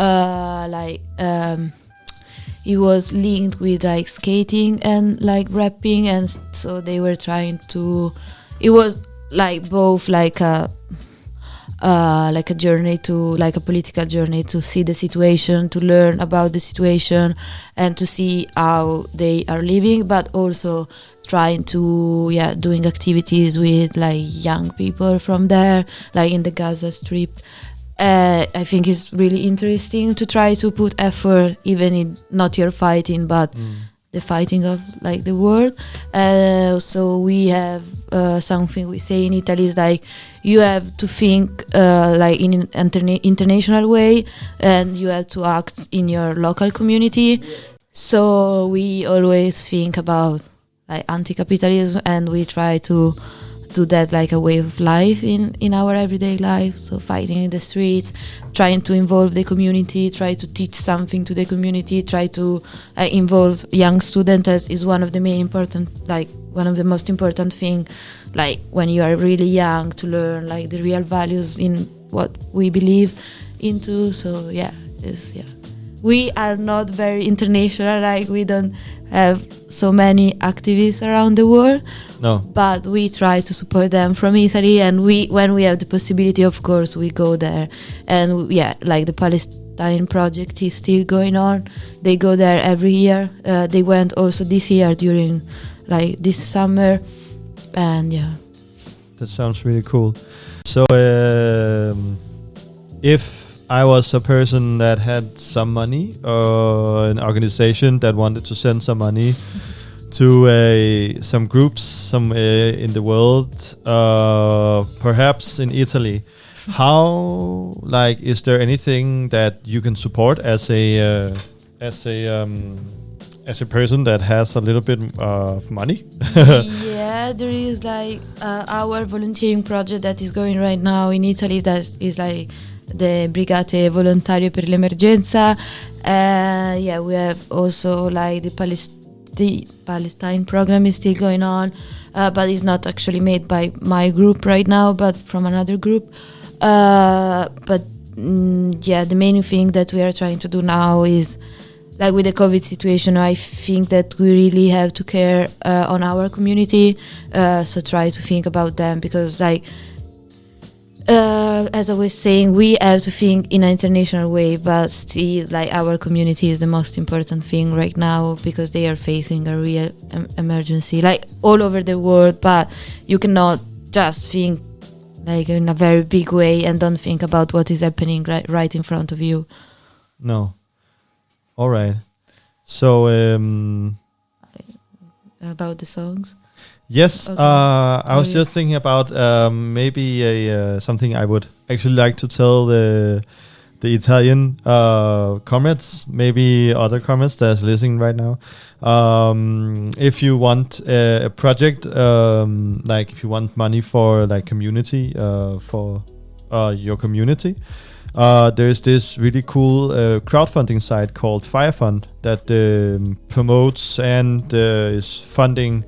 M: it was linked with like skating and like rapping, and so they were trying to. It was like both like a journey to like a political journey to see the situation, to learn about the situation, and to see how they are living, but also trying to doing activities with like young people from there, like in the Gaza Strip. I think it's really interesting to try to put effort, even in not your fighting, but the fighting of like the world. So we have something we say in Italy is like you have to think like in an international way, and you have to act in your local community. So we always think about like anti-capitalism, and we try to do that like a way of life in our everyday life. So fighting in the streets, trying to involve the community, try to teach something to the community, try to involve young students is one of the one of the most important thing, like when you are really young, to learn like the real values in what we believe into. So we are not very international, like we don't have so many activists around the world.
L: No.
M: But we try to support them from Italy, and when we have the possibility, of course, we go there. And like the Palestine project is still going on. They go there every year. They went also this year during like this summer, and
L: that sounds really cool. So if I was a person that had some money, or an organization that wanted to send some money to some groups in the world, perhaps in Italy, how is there anything that you can support as a person that has a little bit of money?
M: There is like our volunteering project that is going right now in Italy, that is like the Brigate Volontarie per l'Emergenza. We have also like the Palestine program is still going on, but it's not actually made by my group right now, but from another group. The main thing that we are trying to do now is, like with the COVID situation, I think that we really have to care on our community, so try to think about them, because like as I was saying, we have to think in an international way, but still like our community is the most important thing right now, because they are facing a real emergency like all over the world. But you cannot just think like in a very big way and don't think about what is happening right in front of you.
L: No. All right. So
M: about the songs.
L: Yes,
M: okay.
L: I was just thinking about maybe something I would actually like to tell the Italian comrades, maybe other comrades that's listening right now. If you want a project, like if you want money for like community, for your community, there's this really cool crowdfunding site called Firefund that promotes and is funding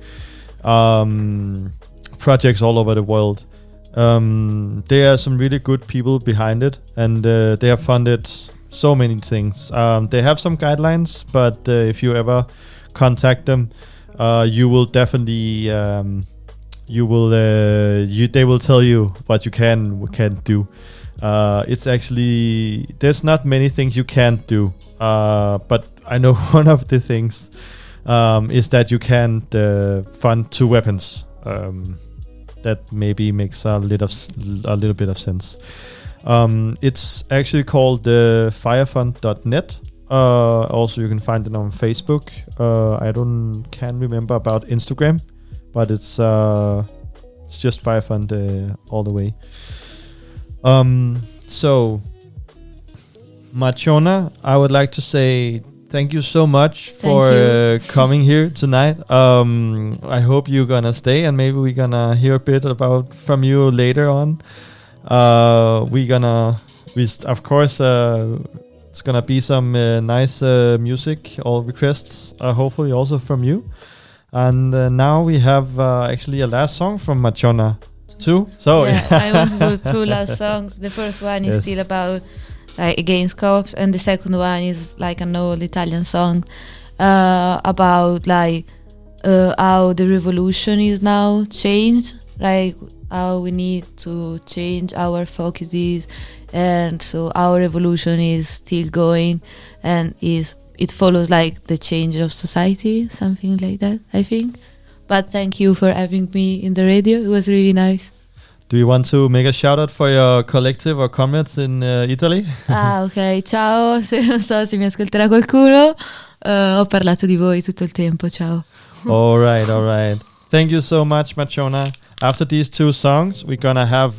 L: projects all over the world. There are some really good people behind it, and they have funded so many things. They have some guidelines, but if you ever contact them, you will definitely they will tell you what you can do. it's actually, there's not many things you can't do, but I know one of the things is that you can't fund 2 weapons. That maybe makes a little bit of sense. It's actually called firefund.net. Also, you can find it on Facebook. I can't remember about Instagram, but it's just Firefund all the way. So, Machona, I would like to say thank you so much for coming here tonight. I hope you're gonna stay, and maybe we're gonna hear a bit from you later on. Of course, it's gonna be some nice music or requests, hopefully also from you. And now we have actually a last song from Machona too. So
M: I want to put 2 last songs. The first one is still about against cops, and the second one is like an old Italian song about how the revolution is now changed, like how we need to change our focuses, and so our revolution is still going, and it follows like the change of society, something like that, I think. But thank you for having me in the radio. It was really nice.
L: Do you want to make a shout out for your collective or comrades in Italy?
M: Ok, ciao, non so se mi ascolterà qualcuno, ho parlato di voi tutto il tempo, ciao.
L: All right. Thank you so much, Machona. After these 2 songs, we're gonna have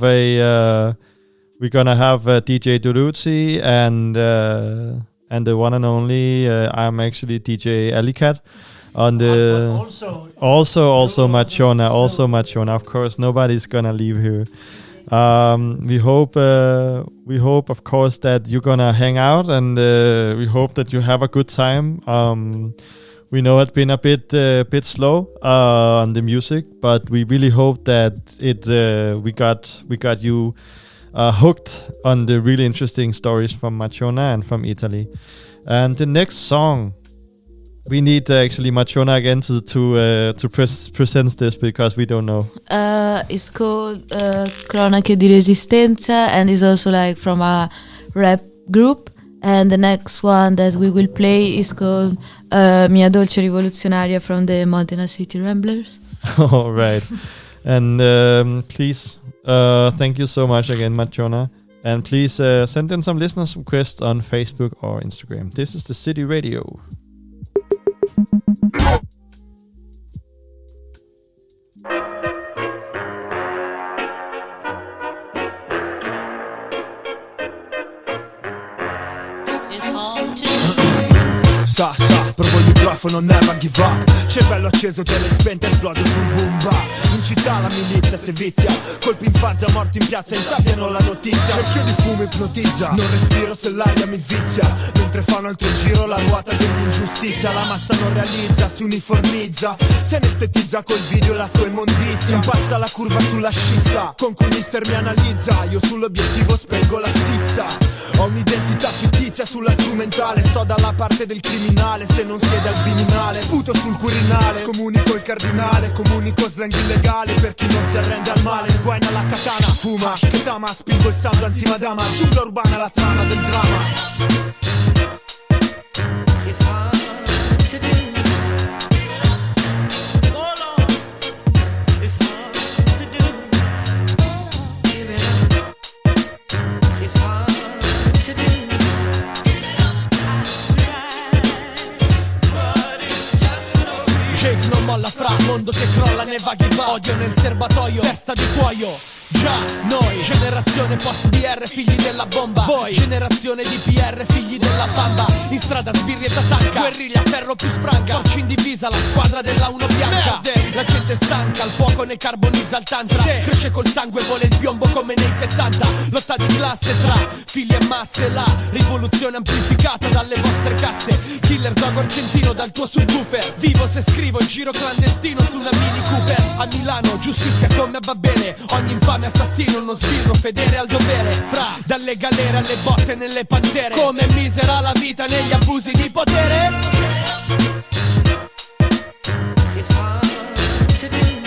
L: DJ Duruzzi and the one and only I'm actually DJ Alicat. On the also Machona, of course, nobody's gonna leave here. We hope of course that you're gonna hang out, and we hope that you have a good time. We know it's been a bit slow on the music, but we really hope that we got you hooked on the really interesting stories from Machona and from Italy. And the next song, we need actually Machona again to present this, because we don't know.
M: It's called Cronache di Resistenza, and is also like from a rap group. And the next one that we will play is called Mia Dolce Rivoluzionaria from the Modena City Ramblers.
L: All right. And please, thank you so much again, Machona. And please send in some listeners' requests on Facebook or Instagram. This is the City Radio.
F: Sta, provo il microfono, never give up. Cervello acceso, tele spente, esplode sul boom bap. In città la milizia si vizia, colpi in fazza, morti in piazza, insabbiano la notizia. Cerchio di fumo ipnotizza, non respiro se l'aria mi vizia. Mentre fa un altro giro la ruota dell'ingiustizia. La massa non realizza, si uniformizza, se anestetizza col video la sua immondizia. Impazza la curva sulla scissa, con cui mister mi analizza. Io sull'obiettivo spengo la sizza. Ho un'identità fittizia sulla strumentale, sto dalla parte del criminale, se non siede al Viminale. Sputo sul Quirinale, scomunico il cardinale, comunico slang illegale per chi non si arrende al male. Sguaina la katana, fuma, che tama, spingo il sound antimadama, giungla urbana la trama del dramma. It's hard to do.
W: Non molla fra, mondo che crolla nei vaghi va. Odio nel serbatoio, testa di cuoio. Già, noi, generazione post-BR, figli della bomba. Voi, generazione di PR, figli della bamba. In strada sbirri e tatanca, guerriglia, ferro più spranca. Porci in divisa, la squadra della uno bianca. La gente stanca, il fuoco ne carbonizza il tantra. Cresce col sangue, vuole il piombo come nei 70. Lotta di classe tra figli e masse. La rivoluzione amplificata dalle vostre casse. Killer dog argentino dal tuo subwoofer. Vivo se scrivo in giro clandestino sulla Mini Cooper. A Milano, giustizia come va bene. Ogni infame assassino, uno sbirro fedele al dovere. Fra, dalle galere alle botte nelle pantere. Come misera la vita negli abusi di potere. It's hard to do.